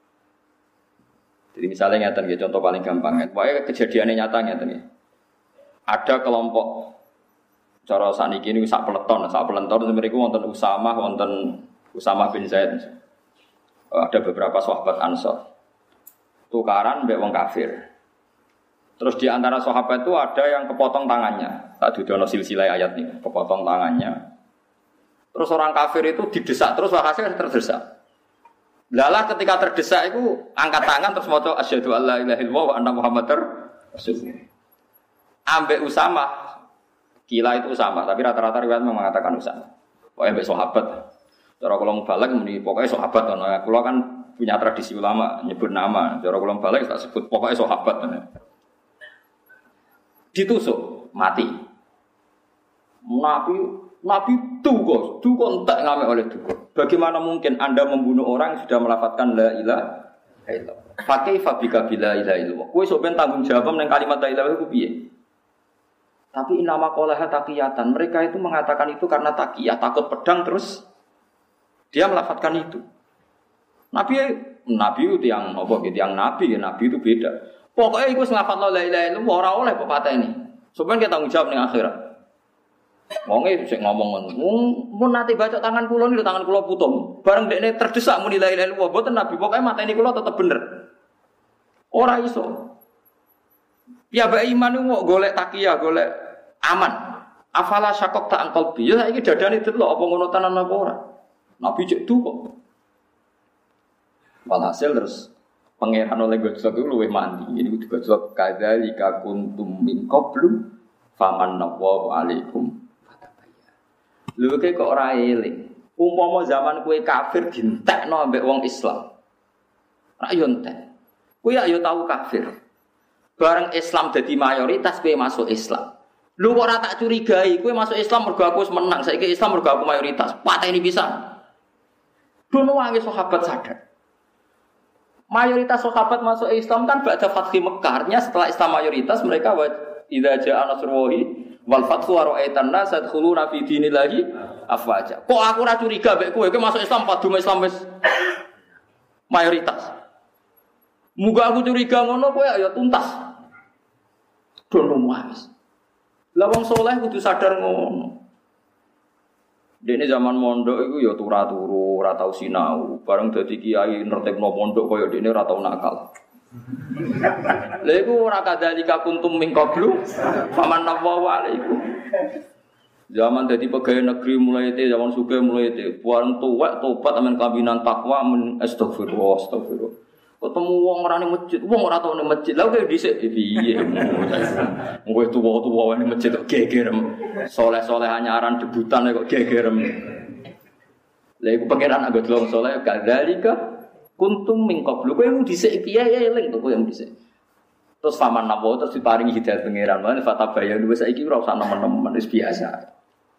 Jadi misalnya ngeten nggih contoh paling gampang pokoke kejadiane nyata ngeten nggih. Ada kelompok cara saniki niku sak peleton mriku wonten Usamah bin Zaid. Ada beberapa sahabat Ansor. Tukaran mbek wong kafir. Terus di antara sahabat itu ada yang kepotong tangannya. Tak didono silsilah ayat ini, kepotong tangannya. Terus orang kafir itu didesak terus hasilnya terdesak. Lalah ketika terdesak itu angkat tangan terus maca asyhadu alla ilaha illallah wa anna muhammadar rasulullah. Ambek Usamah Kila itu sama, tapi rata-rata riwayat mengatakan Usama. Pokoknya mbek sahabat. Cara kula mubalak muni pokoknya sahabat ana. Kula kan punya tradisi ulama nyebut nama. Cara kula mubalak tak sebut pokoknya sahabat. Ditusuk, mati. Nabi duga entek ngame oleh duga. Bagaimana mungkin Anda membunuh orang yang sudah melafatkan la ilaha illallah? Fa kaifa bika bila ilaha illallah? Kowe sok ben tanggung jawab ning kalimat la ilaha iku piye? Tapi inama qolaha taqiyatan. Mereka itu mengatakan itu karena taqiyah, takut pedang terus dia melafatkan itu. Nabi nabi itu yang apa gitu, yang nabi ya nabi itu beda. Pokoknya iku nglafat la ilaha illallah ora oleh kok pateni. Sampeyan kita tanggung jawab ning akhirat. Wonge sik ngomong ngono. Mun nate baca tangan kula niku tangan kula putung. Bareng dekne terdesak muni la ilaha illallah mboten nabi. Pokoke mateni kula tetep bener. Ora iso. Piyambake iman niku kok golek takiyah, golek aman. Afala syakok tak angkal bi. Ya saiki dadane delok apa ngono tenan apa ora. Nabi cek du kok. Walhasil terus pangeran oleh gojlok itu luwih mandi. Ini kudu gojlok kadzalika kuntum min qablu famanallahu alaikum. Lho kok ora eling. Umpama zaman kowe kafir dientekno ambek wong Islam. Ra yo entek. Kowe ya tahu kafir. Bareng Islam dadi mayoritas kowe masuk Islam. Lho kok ora tak curigai, kowe masuk Islam mergo aku wis menang, saiki Islam mergo aku mayoritas. Pateni pisan. Dono wangi sahabat sadar. Mayoritas sahabat masuk Islam kan ba'da Fathi Mekkah. Artinya setelah Islam mayoritas mereka idza ja'a nasrullahi wal fathu wa ra'aitan nas yadkhuluna fi dinillahi afwaja. Kok aku ora curiga mbek kowe masuk Islam padha Islam wis mayoritas. Muga aku curiga ngono kowe ya tuntas. Dono wis. Lah wong saleh kudu sadar ngono. Dene zaman mondok iku ya turu-turu, ora tau sinau. Bareng dadi kiai nertibno pondok kaya dene ora tau nakal. Lha iku ora kadzalika kuntum min qablu famanallahu alaikum. Zaman dadi pegawai negeri mulai itu, zaman sugih mulai itu. Bareng tuwek tobat amen kabinan takwa men astagfirullah, astagfirullah. Ketemu wong ora ning masjid, wong ora tau ning masjid. Lah kok dhisik piye? Kowe tuwa-tuwa ning masjid kok gegerem. Soleh-soleh anyaran debutan kok gegerem. Lah iku pangeran anggo delok soleh kadzalika kuntum min qablu. Kowe dhisik piye eling to kowe dhisik. Terus faman napa terus diparingi hidayah pangeran. Lan fatabayyan wis saiki ora usah nemen-nemen wis biasa.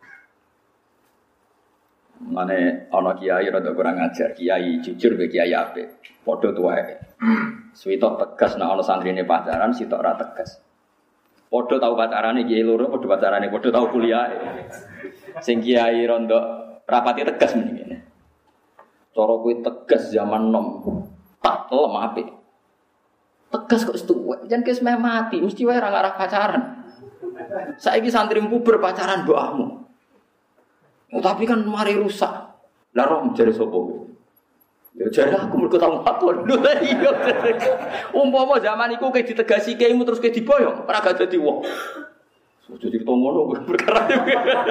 Mane ana kiai rada kurang ajar, kiai jujur be kiai apik. Padha tuwae. Suwitok tegas nek ana santrine pacaran, sitok ora tegas. Padha tau pacarane kiai loro, padha pacarane, padha tau kuliah. Sing kiai rondok rapati tegas mrene. Cara kowe tegas zaman nom, tak lem apik. Tegas kok setuwek, jan kes meh mati, mesti wae ora ngarah pacaran. Saiki santri puber pacaran mbokmu. Oh, tapi kan mari rusak. Lah roh jare sapa kowe? Ya jare aku mergo tau makon. Lho iya. Umpama zaman iku kowe ditegasi kiaimu terus kowe diboyong, ora gak dadi wong. Sudah ditomongno perkara iki.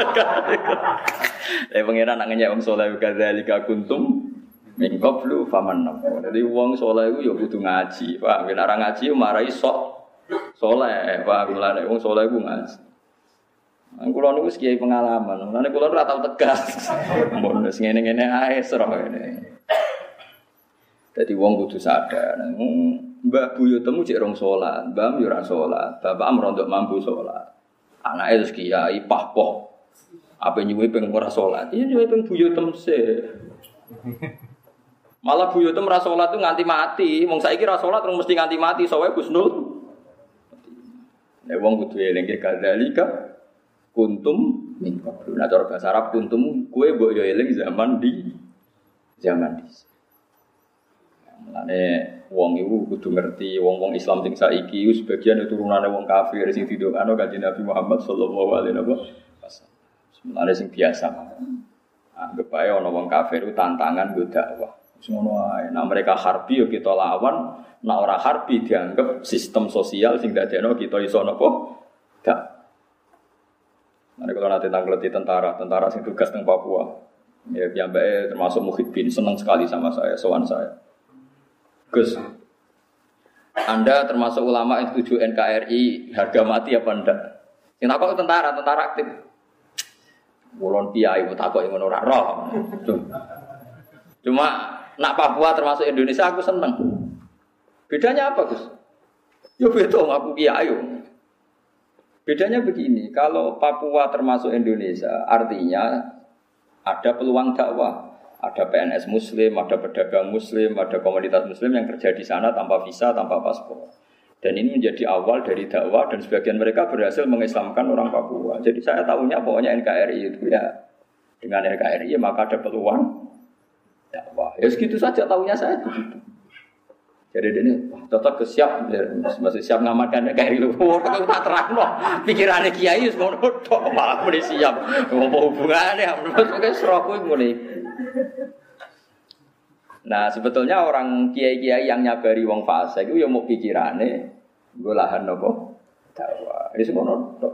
Pangeran nak ngenyek wong saleh kadzalika kuntum min qablu famanna. Dadi wong saleh iku ya kudu ngaji. Pak, yen ora ngaji marai sok saleh. Pak, mulane wong saleh iku ngaji. Kulo niku wis kiai pengalaman. Mulane kulo ora tau tegas. Mun wis ngene-ngene ae sero ngene. Dadi wong kudu sadar. Mbah buyutmu cek rong salat, mbah yo ora salat, bapak merondok mampu salat. Anake terus kiai pahpoh. Apa nyuwe ping ora salat? Iya nyuwe ping buyutem sik. Malah buyutem ora salat tuh nganti mati. Wong saiki ora salat terus mesti nganti mati, sowe Gusnul. Nek wong kudu eling kadzalika kuntum min qablu. Nah cara bahasa Arab kuntum kowe mbok yo eling zaman di. Mulane wong iku kudu ngerti wong-wong Islam sing saiki iku sebagian turunane wong kafir sing didongakno Kanjeng Nabi Muhammad sallallahu alaihi wasallam. Mulane sing biasa. Anggap ae ana wong kafir iku tantangan nggo dakwah. Wis ngono ae. Nah mereka harbi yo kita lawan, nek ora harbi dianggap sistem sosial sing dadekno kita iso napa? Dak. Nah kalau nanti tanggleti tentara sing tugas teng Papua. Ya piyambake termasuk Muhyiddin senang sekali sama saya, sowan saya. Gus, Anda termasuk ulama yang setuju NKRI harga mati apa enggak? Yang takut tentara aktif. Mulon piye takut yang ora roh. Cuma nak Papua termasuk Indonesia aku seneng. Bedanya apa, Gus? Ya beda aku kiai. Bedanya begini, kalau Papua termasuk Indonesia, artinya ada peluang dakwah. Ada PNS Muslim, ada pedagang Muslim, ada komunitas Muslim yang kerja di sana tanpa visa, tanpa paspor. Dan ini menjadi awal dari dakwah dan sebagian mereka berhasil mengislamkan orang Papua. Jadi saya tahunya pokoknya NKRI itu ya, dengan NKRI maka ada peluang dakwah. Ya segitu saja tahunya saya begitu. Jadi ini cocok ke siap, masih siap ngamalkan kayak itu. Aku tak terang loh. Pikirannya kiai semua tok malah mulai siap. Apa hubungannya? Maksudnya seroku mulai. Nah sebetulnya orang kiai-kiai yang nyabari wong fase itu yang mau pikirannya, gue lahan nopo dakwah. Ini semua tok.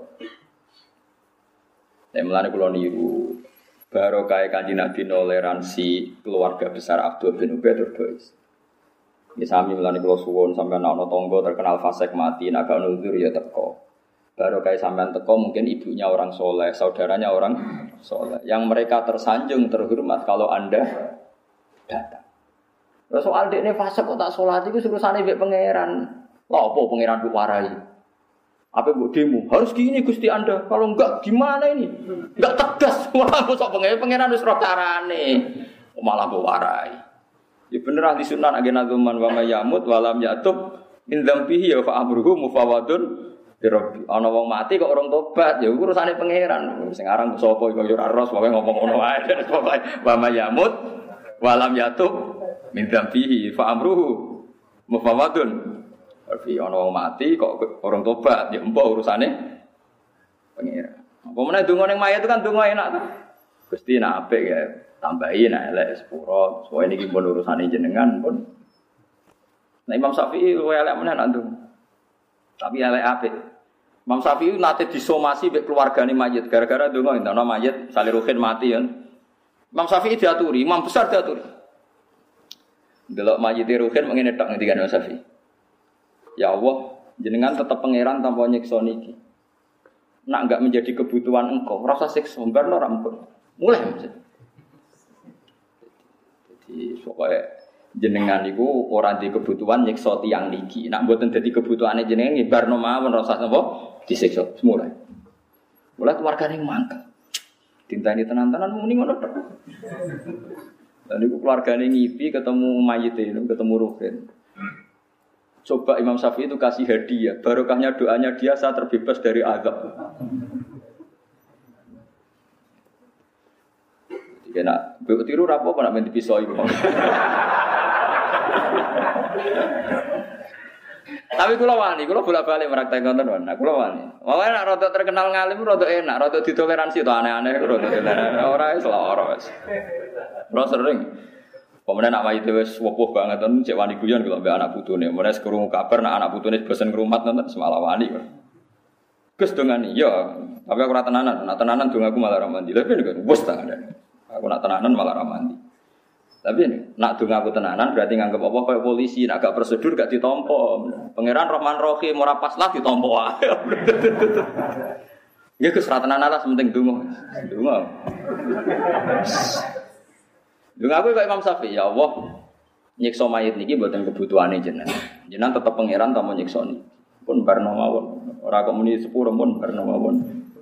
Saya melani kulo niru. Baru kayak Kanjeng Nabi toleransi keluarga besar Abdul bin Ubay terus. Ya sami melani kula suwun sampean ana tangga terkenal fasik mati naga nuzur ya teko. Baru kayak sampean teko mungkin ibunya orang soleh, saudaranya orang soleh. Yang mereka tersanjung terhormat kalau Anda datang. Lah soal dekne fasik kok tak salat iku urusane mbek pangeran. Lha opo pangeran kok warai? Apa mbok demo? Harus gini Gusti Anda. Kalau enggak gimana ini? Enggak tegas. Wah, kok pangeran wis ro carane. Malah mbok warai. Ya bener ahli sunnah agena zaman wa mayamut walam yatub min dzambihi ya fa amruhu mufawadun bi rabbi. Ana wong mati kok orang tobat ya urusane pangeran. Sing aran sapa iku ya ora ros pokoke ngomong ngono wae. Pokoke wa mayamut walam yatub min dzambihi fa amruhu mufawadun. Berarti ana wong mati kok orang tobat ya empuk urusane pangeran. Apa meneh donga ning mayit itu kan donga enak ta. Gusti nek apik ya tambahin elek sepuro, soalnya ini pun urusan jenengan pun. Nah Imam Syafi'i luwe elek meneh nak ndung. Tapi elek apik. Imam Syafi'i nate disomasi mbek keluargane mayit gara-gara ndonga entono mayit Saliruhin mati ya. Imam Syafi'i diaturi, imam besar diaturi. Delok mayit Ruhin mengene tok ngendikan Imam Syafi'i. Ya Allah, jenengan tetap pangeran tanpa nyiksa niki. Nak enggak menjadi kebutuhan engkau, rasa siksa barno ora ampun. Mulai maksud. Pokoknya jenengan itu orang di kebutuhan nyiksa tiang niki. Nak mboten dadi kebutuhane jenengan ngibarno mawon rasa napa disiksa semula. Mulai keluargane mangkel. Dintani tenan-tenan muni ngono tok. Lah niku keluargane ngipi ketemu mayit ketemu Ruhin. Coba Imam Syafi'i itu kasih hadiah, barokahnya doanya dia saya terbebas dari azab. Kena tiru rapo apa nak main pisau itu. Tapi kula wani, kula bolak-balik meraktek konten wan. Kula wani. Wae nak rada terkenal ngalim rada enak, rada ditoleransi to aneh-aneh rada toleransi. Ora wis lara wis. Ora sering. Pemene nak mayit wis wopoh banget ten cek wani guyon kula mbek anak putune. Mulai krungu kabar nak anak putune bosen ngrumat nonton semalah wani. Gus dongani, ya. Tapi aku ora tenanan, nak tenanan dong aku malah ra mandi. Lha piye bos ta ada. Aku nak tenanan malah ra mandi. Tapi ini, nak donga aku tenanan berarti nganggep apa kayak polisi, nak gak prosedur gak ditompo. Pangeran Rahman Rahim ora pas lah ditompo wae. Ya Gus ra tenanan lah penting donga. Donga. Donga aku kayak Imam Syafi'i, ya Allah. Nyiksa mayit niki mboten kebutuhane jenengan. Jenengan tetep pangeran ta mau nyiksa niki. Pun barno mawon. Ora kok muni sepuro pun barno mawon.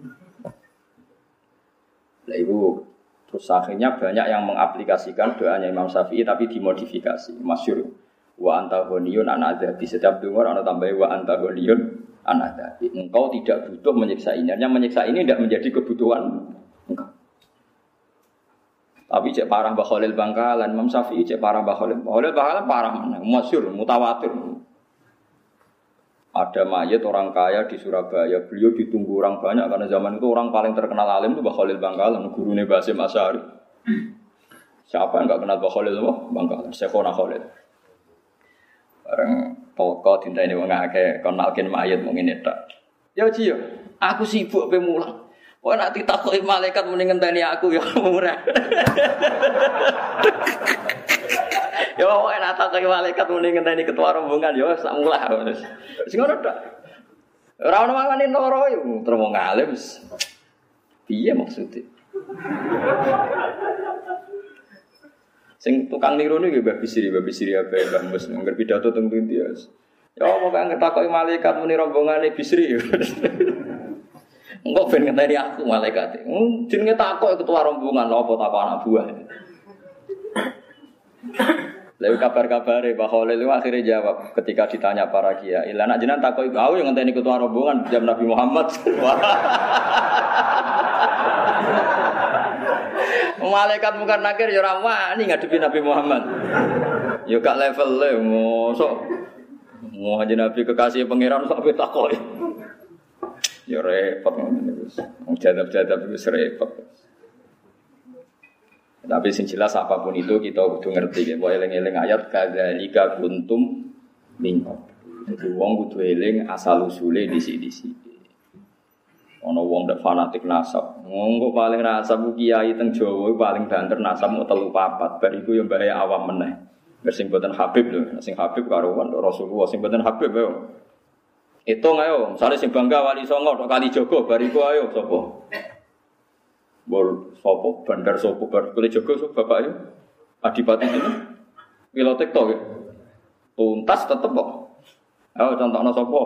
Lah ibu terus akhirnya banyak yang mengaplikasikan doanya Imam Syafi'i tapi dimodifikasi. Masyhur wa anta ghaniyun an adzabi. Setiap dengar ana tambahi wa anta ghaniyun an adzabi. Engkau tidak butuh menyiksa ini. Hanya menyiksa ini tidak menjadi kebutuhan engkau. Tapi cek parah Mbah Khalil Bangkalan, Imam Syafi'i cek parah Mbah Khalil. Mbah Khalil Bangkalan parah mana? Masyhur, mutawatir. Ada mayat orang kaya di Surabaya, beliau ditunggu orang banyak karena zaman itu orang paling terkenal alim itu Mbah Khalil Bangkalan, gurunya Basim Asy'ari. Siapa yang enggak kenal Mbah Khalil Bangkalan? Syekhona Khalil. Bareng pokok dinta ini wong akeh kenalkin mayat mung ngene tok. Ya Ci, aku sibuk pe mulang. Kok nek ditakoki malaikat muni ngenteni aku ya murah. Ya kok nek ditakoki malaikat muni ngenteni ketua rombongan ya sak mulah. Wis ngono tok. Ora ono mangane loro yo terus wong alim. Piye maksude? Sing tukang niru niku Mbah Bisri ape Mbah Mus ngger pidato teng pundi ya. Ya kok angger takoki malaikat muni rombongane Bisri. Engko ben ngenteni aku malaikat. Jenenge takok ketua rombongan apa takok anak buah. Lalu kabar-kabare Mbah Khalil itu akhirnya jawab ketika ditanya para kiai, "Lah nek jenengan takok aku yang ngenteni ketua rombongan jam Nabi Muhammad." Malaikat mungkar nakir ya ora wani ngadepi Nabi Muhammad. Ya gak level le mosok. Mau aja Nabi kekasih pangeran sampai takoi. Ya repot ngono wis. Wong jadab-jadab itu repot. Tapi sing jelas apapun itu kita kudu ngerti ya. Wa eling-eling ayat kadzalika kuntum minkum. Jadi wong kudu eling asal usule disi-disi. Ana wong nek fanatik nasab. Wong paling nasab ku kiai teng Jawa paling banter nasab mau 3-4. Bar iku ya mbare awam meneh. Sing boten Habib lho, sing Habib karo Rasulullah sing boten Habib yo. Hitung ayo, misale sing bangga Wali Songo tok Kalijogo bariku ayo sapa? Bol sapa bandar sapa bar Kalijogo sapa bapak yo? Adipati ini. Pilotek tok. Tuntas tetep kok. Ayo contohno sapa?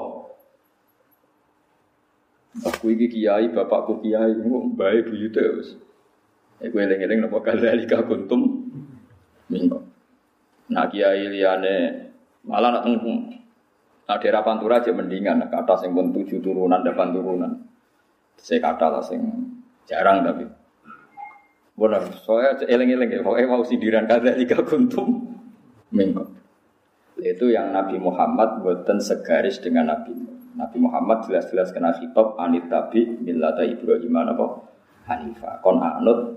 Aku iki kiai, bapakku kiai, mbae buyute wis. Iku eling-eling napa kadzalika kuntum minkum. Nah kiai liyane malah nak daerah Pantura aja mendingan kata sing pun 7 turunan 8 turunan. Saya kata lah sing jarang tapi. Benar, soalnya eling-eling ya, pokoknya mau sindiran kadzalika kuntum minkum. Itu yang Nabi Muhammad boten segaris dengan Nabi. Nabi Muhammad jelas-jelas kena khitab anit tabi millata Ibrahim napa Hanifah. Kon anut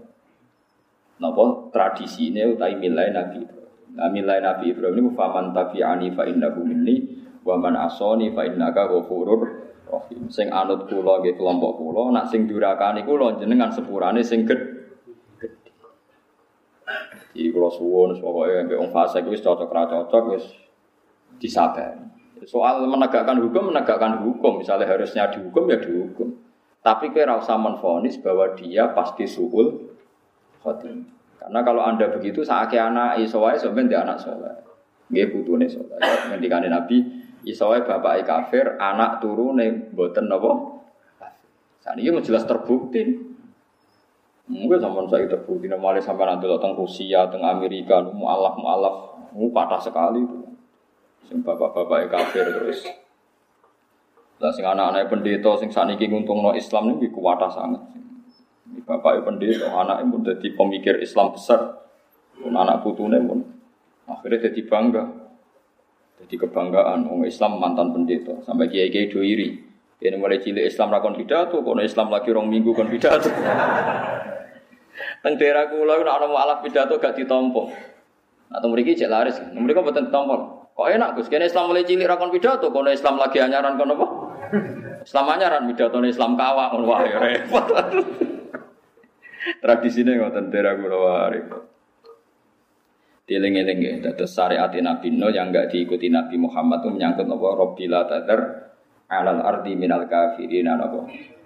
napa tradisine utawi milai Nabi Ibrahim. Milai Nabi Ibrahim ini faman tabi'ani fa innahu minni wa man asani fa innaka ghafurur rahim. Sing anut kula nggih kelompok kula, nak sing durakani kula jenengan sepurane sing gedhe. Iki kula suwun pokoke mbek wong fasik wis cocok ra cocok wis disabari. Soal menegakkan hukum, misalnya harusnya dihukum ya dihukum. Tapi kowe ora usah menvonis bahwa dia pasti suul khotimah. Karena kalau Anda begitu saake anak iso wae sampeyan ndek anak saleh. Nggih putune saleh. Ngendikane Nabi, iso wae bapake kafir, anak turune mboten napa? Saniki wis jelas terbukti. Mungkin sampean saya terbukti nomale sampean ndelok teng Rusia, teng Amerika, mualaf, patah sekali itu. Sing bapak-bapake kafir terus. Lah sing anak-anake pendeta sing sakniki nguntungno Islam niku kuwatah sanget. Bapak pendeta, anaknya pun jadi pemikir Islam besar, pun anak putune pun akhirnya jadi bangga, jadi kebanggaan. Orang Islam mantan pendeta, sampai kiai-kiai doiri. Ini mulai cilik Islam rakon pidato, kono Islam lagi rong minggu kon pidato. Teng daerah kula nek ana mualaf pidato gak ditampa. Atau mriki cek laris, mriki mboten ditampa. Kok enak Gus, kene Islam mulai cilik rakon pidato, kono Islam lagi anyaran kono apa? Islam anyaran pidatone Islam kawak, wah ya repot. Tradisine ngoten daerah kula wae. Dieling-eling nggih, dados syariat Nabi Nuh yang enggak diikuti Nabi Muhammad itu menyangkut apa Rabbil tadar alal ardi minal kafirin apa.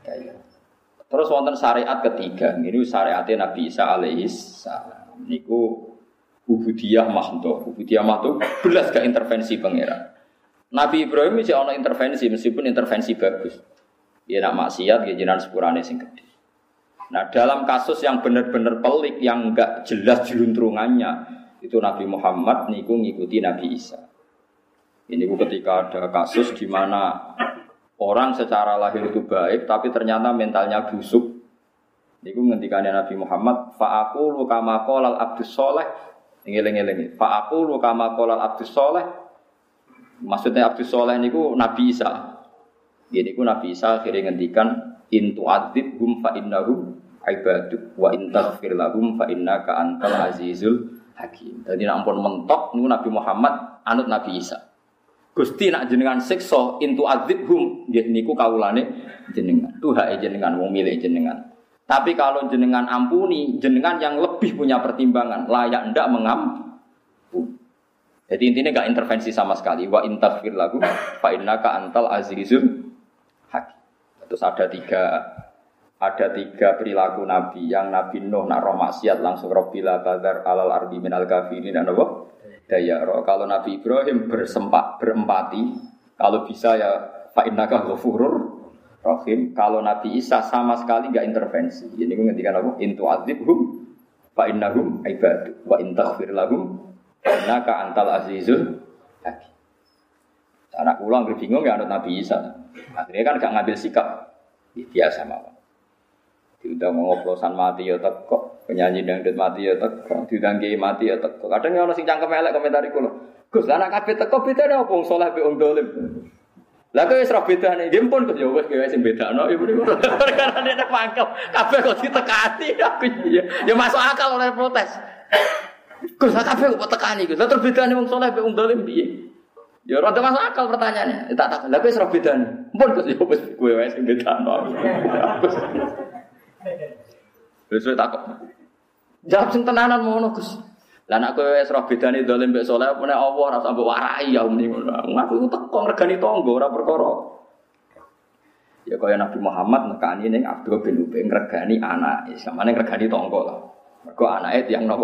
Terus wonten syariat ketiga, niku syariat Nabi Isa alaihis salam. Niku ubudiyah mahdhah. Ubudiyah mahdhah belas gak intervensi pangeran. Nabi Ibrahim iki ana intervensi meskipun intervensi bagus. Ya nak maksiat nggih jenengan sepurane sing gedhe. Nah dalam kasus yang benar-benar pelik yang enggak jelas jeluntrungannya itu Nabi Muhammad niku ngikuti Nabi Isa. Ini ketika ada kasus di mana orang secara lahir itu baik tapi ternyata mentalnya busuk. Niku ngendikane Nabi Muhammad fa aqulu kama qala al-abdus shalih. Ngeling-eling. Fa aqulu kama qala al-abdus shalih. Maksudnya abdus shalih niku Nabi Isa. Niku Nabi Isa akhirnya ngendikan in tu'adzibhum fa innahum ibaduk wa in taghfir lahum fa innaka antal azizul hakim. Dadi nek ampun mentok niku Nabi Muhammad anut Nabi Isa. Gusti nak jenengan siksa in tu'adzibhum nggih niku kawulane jenengan. Tuhake jenengan wong milik jenengan. Tapi kalau jenengan ampuni, jenengan yang lebih punya pertimbangan, layak ndak mengampuni. Jadi intinya enggak intervensi sama sekali. Wa in taghfir lahum fa innaka antal azizul hakim. Terus ada tiga perilaku Nabi. Yang Nabi Nuh nak roh maksiat langsung Rabbila tadar alal ardi minal kafirin dan apa? Daya roh. Kalau Nabi Ibrahim berempati, kalau bisa ya fa innaka ghafurur rahim. Kalau Nabi Isa sama sekali enggak intervensi. Ini gue ngendikan apa? In tu'adzibhum fa innahum ibadu wa in taghfir lahum innaka antal azizul hakim. Anak kula anggere bingung ya anut Nabi Isa. Akhirnya kan gak ngambil sikap. Biasa mawon. Diundang ngoplosan mati ya teko. Penyanyi dangdut mati ya teko, didangge mati ya teko. Kadang ono sing cangkem elek komentar iku lho. Gus, lah anak kabeh teko bedane opo wong saleh mbek wong dolim. Lah kok wis ora bedane, nggih pun Gus ya wis kowe sing bedakno iku niku. Karena nek mangkel kabeh kok ditekani aku ya masuk akal oleh protes. Gus, lah kabeh kok tekani Gus. Lah terus bedane wong saleh mbek wong dolim piye? Ya ora masuk akal pertanyaannya. Tak tak. Lah kowe wis ora bedane. Pun Gus ya wis kowe wae sing bedakno. Wis takok. Jawab sing tenanan ngono Gus. Lah nek kowe wis ora bedane dolim mbek saleh apa nek Allah ora sampe warai ya muni ngono. Aku iku teko ngregani tangga ora perkara. Ya kaya Nabi Muhammad nekani ning Abdul bin Ubay ngregani anake, samane ngregani tangga lah. Mergo anake tiyang napa?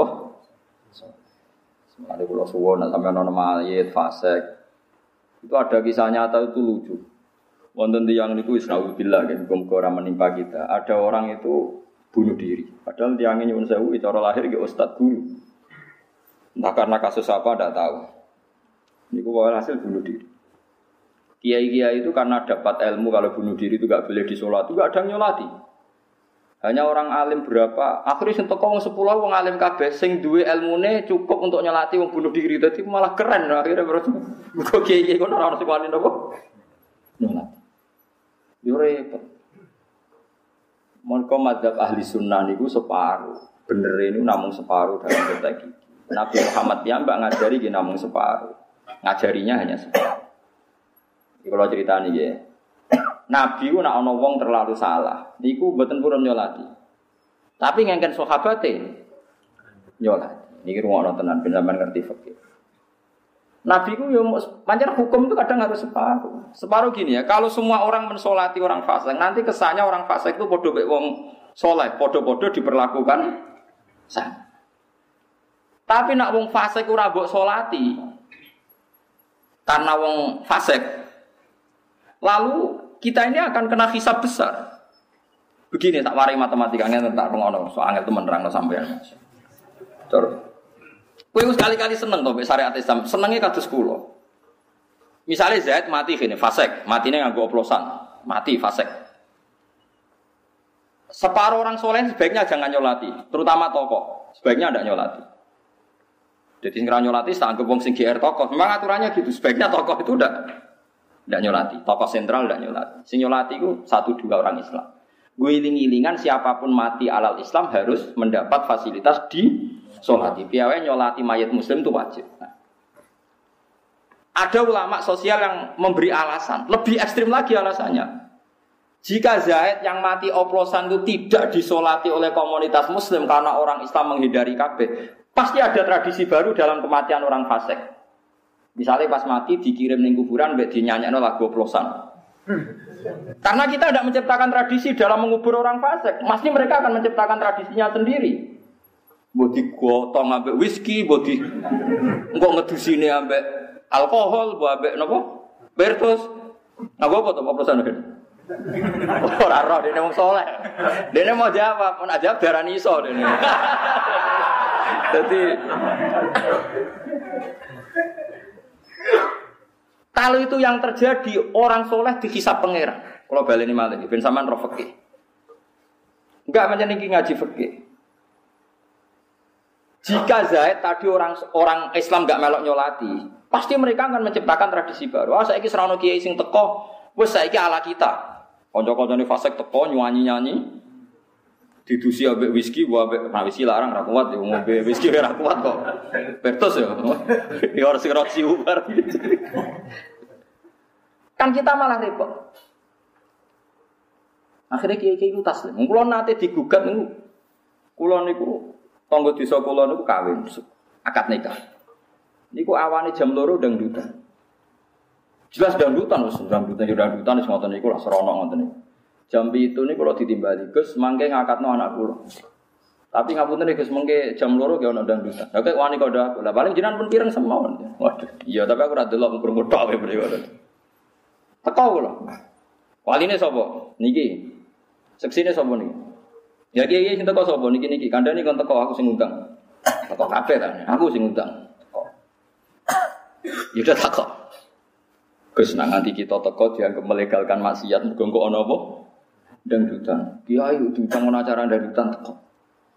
Semane kula suwun nek sampeyan ana mayit fasik. Itu ada kisah nyata itu lucu. Wonten tiyang niku wis naudzubillah kan muga ora menimpa kita. Ada orang itu bunuh diri. Padahal tiyangnya nyuwun sewu cara lahir ke ustaz guru. Entah karena kasus apa tidak tahu. Niku hasil bunuh diri. Kiai-kiai itu karena dapat ilmu kalau bunuh diri itu enggak boleh disolat, itu enggak ada yang nyolati. Hanya orang alim berapa, akhirnya sing teko wong 10 wong alim kabeh sing duwe ilmune cukup untuk nyolati wong bunuh diri. Dadi malah keren akhirnya terus kok kiai-kiai kono ora ono sing wani napa. Nyolati. Yo repot. Mongko madzhab ahli sunnah niku separuh. Bener ini namung separuh dalam konteks iki. Nabi Muhammad piyambak ngajari nggih namung separuh. Ngajarinya hanya separuh. Iki kalau critani nggih. Nabi ku nek ana wong terlalu salah, niku mboten purun nyolati. Tapi ngengken sahabate nyolati. Niki rungokno tenan ben sampean ngerti fikih. Nabi ku yo pancen hukum itu kadang harus separuh. Separuh gini ya, kalau semua orang mensolati orang fasik, nanti kesannya orang fasik itu padha mek wong saleh, padha-padha diperlakukan sama. Tapi nak wong fasik ora mbok solati karena wong fasik, lalu kita ini akan kena hisab besar. Begini tak warai matematikanya tak ngono, so angel temen nerangno sampean. Terus kowe sekali-kali seneng to mek syariat Islam, senenge kados kula. Misale Zaid mati gini, fasik, matine nganggo oplosan, mati fasik. Separuh orang soleh sebaiknya jangan nyolati, terutama tokoh, sebaiknya tidak nyolati. Jadi sing ra nyolati tak anggap wong sing GR tokoh. Memang aturannya gitu, sebaiknya tokoh itu tidak nyolati, tokoh sentral tidak nyolati. Sing nyolati itu 1-2 orang Islam. Guling-gilingan siapapun mati alal Islam harus mendapat fasilitas di solati. Piawai nyolati mayat muslim itu wajib. Nah, ada ulama sosial yang memberi alasan, lebih ekstrim lagi alasannya. Jika Zaid yang mati oplosan itu tidak disolati oleh komunitas muslim karena orang Islam menghindari kabeh, pasti ada tradisi baru dalam kematian orang fasik. Misalnya pas mati dikirim ning kuburan mbek dinyanyekno lagu oplosan. Karena kita tidak menciptakan tradisi dalam mengubur orang fasik, pasti mereka akan menciptakan tradisinya sendiri. Mbok digotong ambek whisky, mbok di engko ngedusine ambek alkohol, mbok ambek napa? Bertus. Nah, apa to oplosan iki? Ora roh dene wong saleh. Dene mau jawab, mun ajab darani iso dene. Jadi kalau itu yang terjadi, orang soleh dihisab pangeran. Kalau baleni malih, ben sampean roh fikih. Enggak pancen iki ngaji fikih. Jika Zaid tadi orang Islam enggak melok nyolati, pasti mereka akan menciptakan tradisi baru. Ah saiki serono kiai sing teko, wis saiki ala kita. Kanca-kancane fasik teko nyanyi-nyanyi. Didusi ambek whisky, ambek whisky larang ra kuat yo ngombe whisky ora kuat kok. Bertos yo. Ya ora sing roti ubar. Kan kita malah repot. Akhirnya kiai-kiai itu taslim. Kula nate digugat niku. Kula niku tangga desa kula niku kawin akad nikah. Niku awane jam 2 dangdutan. Jelas dangdutan wis dangdutan wis ngoten niku lak serono ngoten niku. Jam 7 niku kula ditimbali Gus mangke ngakatno anak kula. Tapi ngapunten Gus mengke jam 2 ge ana dangdutan. Lah kok wani kok aku. Lah paling jenengan pun pireng semawon. Waduh, iya tapi aku ora delok krungu tok wae mriko. Teko kula. Waline sapa? Niki. Seksine sapa niki? Ya kiai sing teko sapa niki kandhane kon teko aku sing ngundang. Teko kabeh ta. Aku sing ngundang. Teko. Ya udah teko. Gus nang nganti kita teko dianggap melegalkan maksiat mergo kok ana apa? Dangdutan. Kiai diutang ana acara dangdutan teko.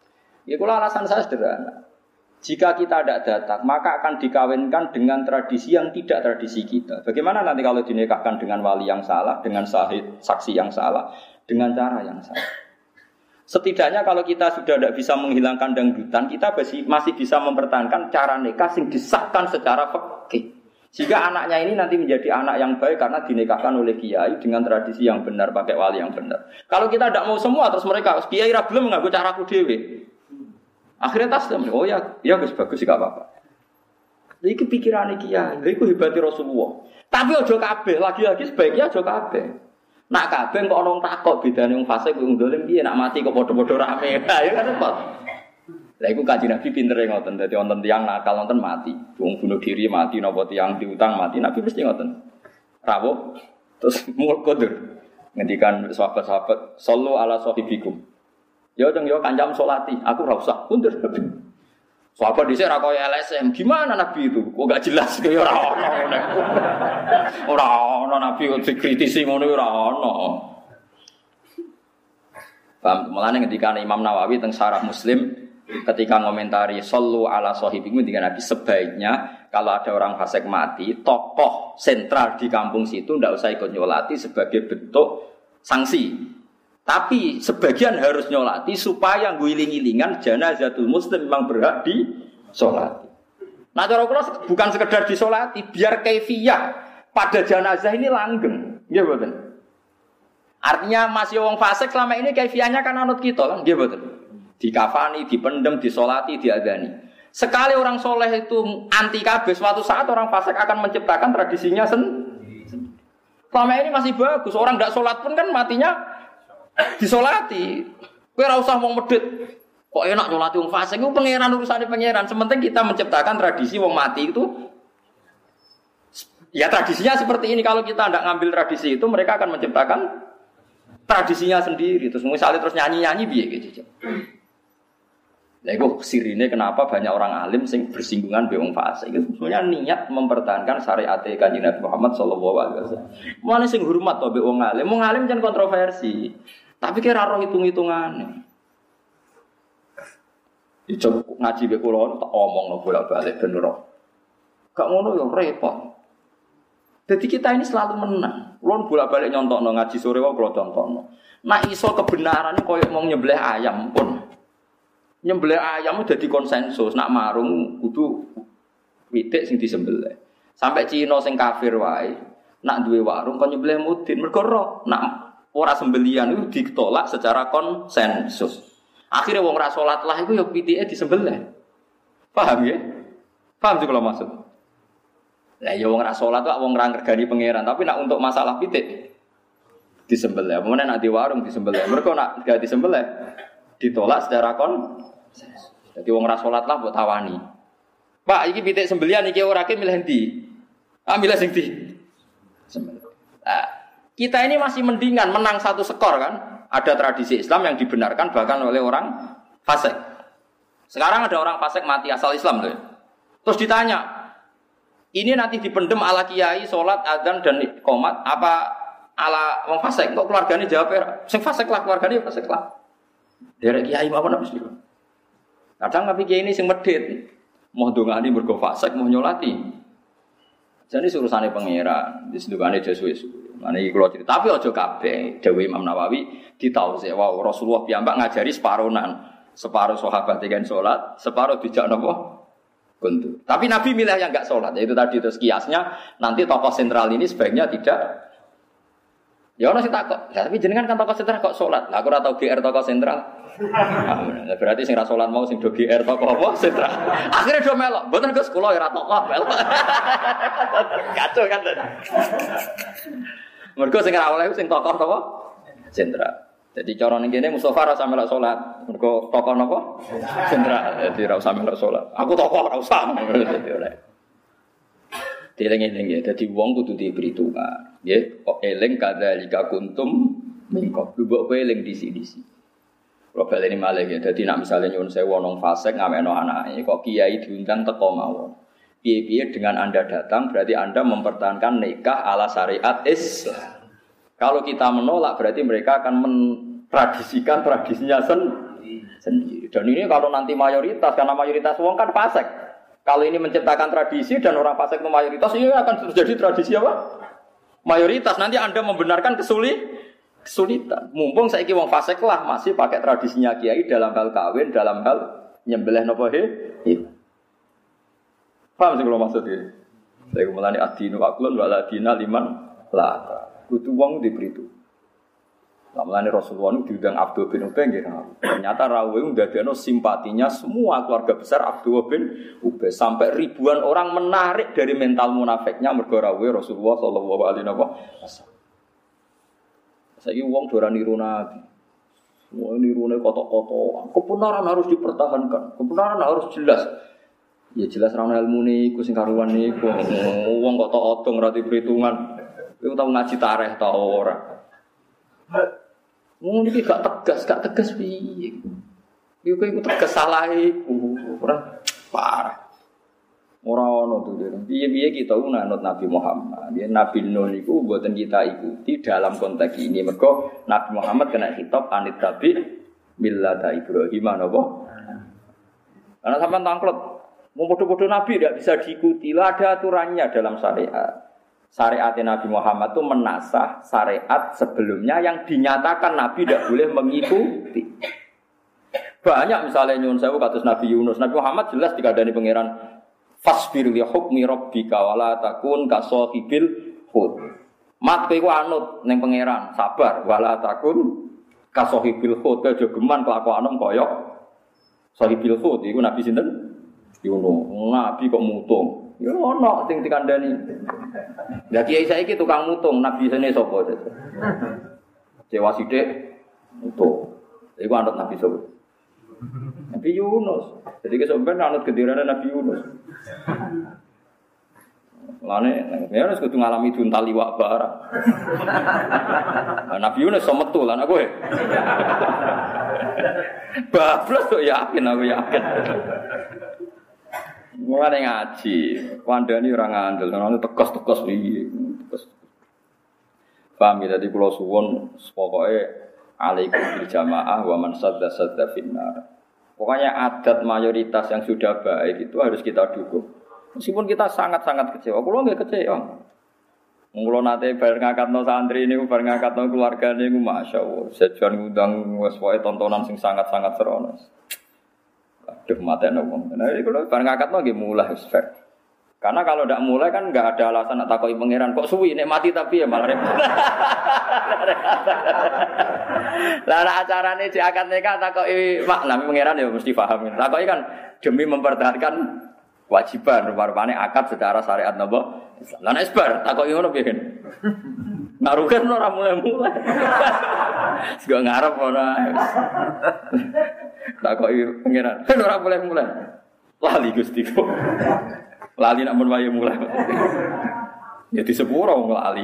Ya kula alasan saya sederhana. Jika kita tidak datang, maka akan dikawinkan dengan tradisi yang tidak tradisi kita. Bagaimana nanti kalau dinikahkan dengan wali yang salah, dengan sahid, saksi yang salah, dengan cara yang salah? Setidaknya kalau kita sudah tidak bisa menghilangkan dangdutan, kita masih bisa mempertahankan cara nikah yang disahkan secara fikih. Jika anaknya ini nanti menjadi anak yang baik karena dinikahkan oleh kiai dengan tradisi yang benar, pakai wali yang benar. Kalau kita tidak mau semua, terus mereka, kiai ra belum mengganggu caraku dewe. Akhirnya taslim, oh ya bagus sih gak apa-apa. Iki pikiran kiai, iku hebati Rasulullah. Tapi ojo kabeh, lagi-lagi sebaiknya ojo kabeh. Nak kabeh kok ono takok bedane wong fasik wong dolim piye nak mati kok padha-padha rame. Lah ya kan repot. Lah iku Kanjeng Nabi pintere ngoten, dadi wonten tiyang nakal wonten mati. Wong bunuh diri mati napa tiyang diutang mati, Nabi mesti ngoten. Rawuh terus mul kodur. Ngendikan sahabat-sahabat, "Shallu ala sahibikum." Ya yo kanjam salati, aku ora usah mundur. Sahabat dhisik ra koyo LSM, gimana Nabi itu? Kok gak jelas kaya ora ono. Ora ono Nabi kok dikritisi ngono ora ono. Paham? Mulane ngendika Imam Nawawi teng Syarah Muslim ketika ngomentari sallu ala sahibikum ngendika Nabi sebaiknya kalau ada orang fasik mati, tokoh sentral di kampung situ ndak usah ikut nyolati sebagai bentuk sanksi. Tapi sebagian harus nyolati supaya guling-gilingan janazatul muslim memang berhak disolati. Nah cara kula bukan sekedar disolati, biar kaifiyah pada jenazah ini langgeng, nggih mboten. Artinya masih wong fasik selama ini kaifiyahnya kan anut kita kan, nggih mboten. Dikafani, dipendem, disolati, diadani. Sekali orang soleh itu anti kabeh, suatu saat orang fasik akan menciptakan tradisinya sendiri. Selama ini masih bagus, orang tidak sholat pun kan matinya disolati. Kowe ora usah wong medhit. Kok enak nyolati wong fasik iku pangeran urusane pangeran. Sementing kita menciptakan tradisi wong mati itu ya tradisinya seperti ini. Kalau kita tidak ngambil tradisi itu, mereka akan menciptakan tradisinya sendiri. Terus misalnya terus nyanyi-nyanyi piye gitu. Lah iku sirine kenapa banyak orang alim sing bersinggungan be wong fasik. Itu sebenarnya niat mempertahankan syariat Kanjeng Nabi Muhammad sallallahu alaihi wasallam. Mane sing hormat to be wong alim. Wong alim jan kontroversi. Tapi kira roh hitung-hitungane. Ijo ngaji be kula tak omongno bolak-balik ben roh. Gak ngono yo repot. Jadi kita ini selalu menang. Kulon bolak-balik nyontokno ngaji sore wae kula contohno. Nek iso kebenarane koyo mau nyembelih ayam pun. Nyembelih ayam udah di konsensus, nak marung kudu witik sing disembelih. Sampai Cina sing kafir wae, nak duwe warung kon nyembelih mudin, mergo roh nak ora sembelihan itu ditolak secara konsensus. Akhirnya wong ra salat lah iku ya pitike disembelih. Paham ya? Paham sih kalau maksud. Lah ya wong ra salat kok wong ra ngregani pangeran, tapi nak untuk masalah pitik disembelih. Apa meneh nak di warung disembelih. Mergo nak gak disembelih ditolak secara konsensus. Jadi wong ra salat lah mbok tawani. Pak, iki pitik sembelihan iki ora ke milih ndi? Ah milih sing ndi? Sembelih. Nah, kita ini masih mendingan menang satu skor kan? Ada tradisi Islam yang dibenarkan bahkan oleh orang fasik. Sekarang ada orang fasik mati asal Islam tuh. Terus ditanya, ini nanti dipendem ala kiai, sholat, adzan dan qomat apa ala wong fasik? Kok keluargane jawab sing fasik lah, keluargane fasik lah. Derek kiai apa napa sih? Kadang tapi kiai ini sing medhit. Mau ndongani mergo fasik, mau nyolati. Jadi urusane pangeran, disendukane suwe-suwe. Mane iki kula cerita, tapi aja kabeh. Dawuh Imam Nawawi ditausi, wow, Rasulullah piyambak ngajari separonan. Separuh sahabat yang salat, separuh dijak napa? Guntur. Tapi Nabi milih yang enggak salat. Yaitu tadi terus kiasnya nanti tokoh sentral ini sebaiknya tidak. Ya ono sing takok. Lah tapi jenengan kan tokoh sentral kok salat. Lah aku ora tau GR tokoh sentral. Nah, berarti sing ra salat mau sing do GR tokoh apa sentral. Akhirnya do melok. Mboten Gus kula ora tokoh melok. Kacau kan. Mergo sing ra oleh sing tokoh apa? Sentral. Jadi cara ning kene Mustofa ora usah melok salat. Mergo tokoh napa? Sentral. Jadi ora usah melok salat. Aku tokoh ora usah. Dadi oleh. Eling-eling ya, dadi wong kudu diperhitungkan. Nggih, kok eling kadzalika kuntum min qablu mbok kowe eling disi-disi. Kalau baleni malih ya, dadi nek misale nyuwun sewu nang fasik ngamekno anake, kok kiai diundang teko mawon. Piye-piye dengan Anda datang berarti Anda mempertahankan nikah ala syariat Islam. Kalau kita menolak berarti mereka akan mentradisikan tradisinya sendiri. sendiri. Dan ini kalau nanti mayoritas, karena mayoritas wong kan fasik. Kalau ini menciptakan tradisi dan orang fasik itu mayoritas, ini akan terjadi tradisi apa? Mayoritas. Nanti Anda membenarkan kesulitan. Mumpung saiki wong fasik lah masih pakai tradisinya kiai dalam hal kawin, dalam hal nyembelih napa paham sih kalau maksudnya? Saya kemulane adinu aklun wala adina liman laka. Kudu wong diberi itu. Lamalane Rasulullah itu diundang Abdul bin Ubay nggih. Ternyata rawuhe ndadekno simpatinya semua keluarga besar Abdul bin Ubay sampai ribuan orang menarik dari mental munafiknya mergo rawuhe Rasulullah sallallahu alaihi wasallam. Saiki wong ora niru Nabi. Wong nirune kotok-kotok. Kebenaran harus dipertahankan. Kebenaran harus jelas. Ya jelas ra ono ilmune iku sing karuan niku. Wong kok tok odong ora diperhitungan. Kowe tau ngaji tarikh ta ora? Wong iki gak tegas piye. Yo kowe iku tegas salah iku. Ora parah. Ora ono to dene. Piye-piye kita nganut Nabi Muhammad. Ya Nabi Nuh niku mboten kita ikuti dalam konteks ini. Mergo Nabi Muhammad kena khitab anit tabi millata Ibrahim napa? Karena sampean tangklet mau bodoh-bodoh Nabi tidak bisa diikuti. Lah ada aturannya dalam syariat. Syariat Nabi Muhammad itu menasah syariat sebelumnya yang dinyatakan Nabi tidak boleh mengikuti. Banyak misalnya nyuwun sewu kados Nabi Yunus. Nabi Muhammad jelas dikandani pangeran fasbir li hukmi rabbika wala takun kasahibil hud. Mat kowe iku anut ning pangeran, sabar wala takun kasahibil hud. Aja geman kelakuanem kaya sahibil hud iku Nabi sinten? Yunus. Nabi kok mutung. Ya ono sing dikandani. Lah kiai saiki tukang mutung, nabi sene sapa? Cewa sithik mutung. Iku anut Nabi sapa? Nabi Yunus. Jadi kesampean anut gendirane Nabi Yunus. Lane, ya harus kudu ngalami juntal liwak barang. Nabi Yunus so metu lan aku. Bablas kok yakin aku yakin. Mulane ngaji, kandhani ora ngandel, ana tekos-tekos iki. Paham ya, dadi kula suwun pokoke alaikum bil jamaah wa man sadda finnar. Pokoknya adat mayoritas yang sudah baik itu harus kita dukung. Meskipun kita sangat-sangat kecewa, kula nggih kecewa. Mula nate bar ngakatno santri niku bar ngakatno keluarga niku masyaallah. Sejan ngundang wis wae tontonan sing sangat-sangat serono. Aduh matene wong. Nah iki kula bar ngakatno nggih mulai wis fair. Karena kalau ndak mulai kan enggak ada alasan nak takoki pangeran kok suwi nek mati tapi ya malah repot. Lah acarane di akad nikah takoki makna pangeran ya mesti paham. Takoki kan demi mempertahankan kewajiban rupane akad secara syariat napa Islam. Lah nek isbar takoki ngono piye? Narukan ora mulai-mulai. Sego ngarep ora. Takoki pangeran, "Kan ora mulai-mulai." Lali Gusti. Lali nak mun wae mulai. Ya di sepuro wong lali.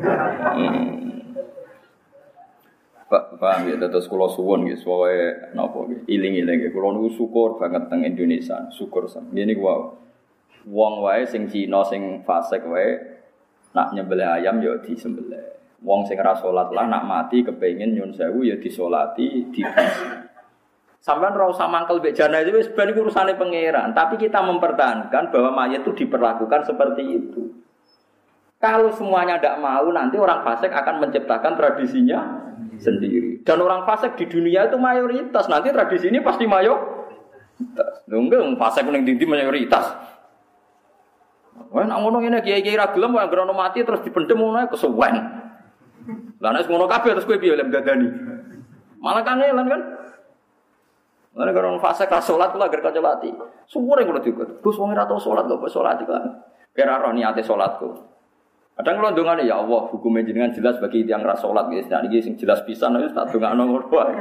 Pak ya terus kula suwun nggih suwe napa nggih iling-iling kula niku syukur banget teng Indonesia, syukur sam. Ngene ku wae. Wong wae sing Cina sing fasik wae nak nyembelih ayam ya disembelih. Wong sing ora salat lah nak mati kepengin nyun sewu ya disolati, sampean ora usah mangkel mbek jenazah wis ben iku urusane pangeran, tapi kita mempertahankan bahwa mayat itu diperlakukan seperti itu. Kalau semuanya tidak mau, nanti orang fasik akan menciptakan tradisinya sendiri. Dan orang fasik di dunia itu mayoritas, nanti tradisi ini pasti mayoritas. Enggak, fasik ning ndi mayoritas. Wah, nak ngono ngene kiai-kiai ra gelem wae grono mati terus dipendhem ngono kesuwen. Lah nek ngono kabeh terus kowe piye lek dadani? Malah kanelan kan? Lan karo fase ka salat kula agar kanca lati. Suwure kula diikut. Gus wong ora tau salat kok salat iki kan. Kira ora niate salatku. Kadang kula ndongane ya Allah, hukume jenengan jelas bagi tiyang ra salat guys. Nah iki sing jelas pisan wis tak dongakno ngono wae.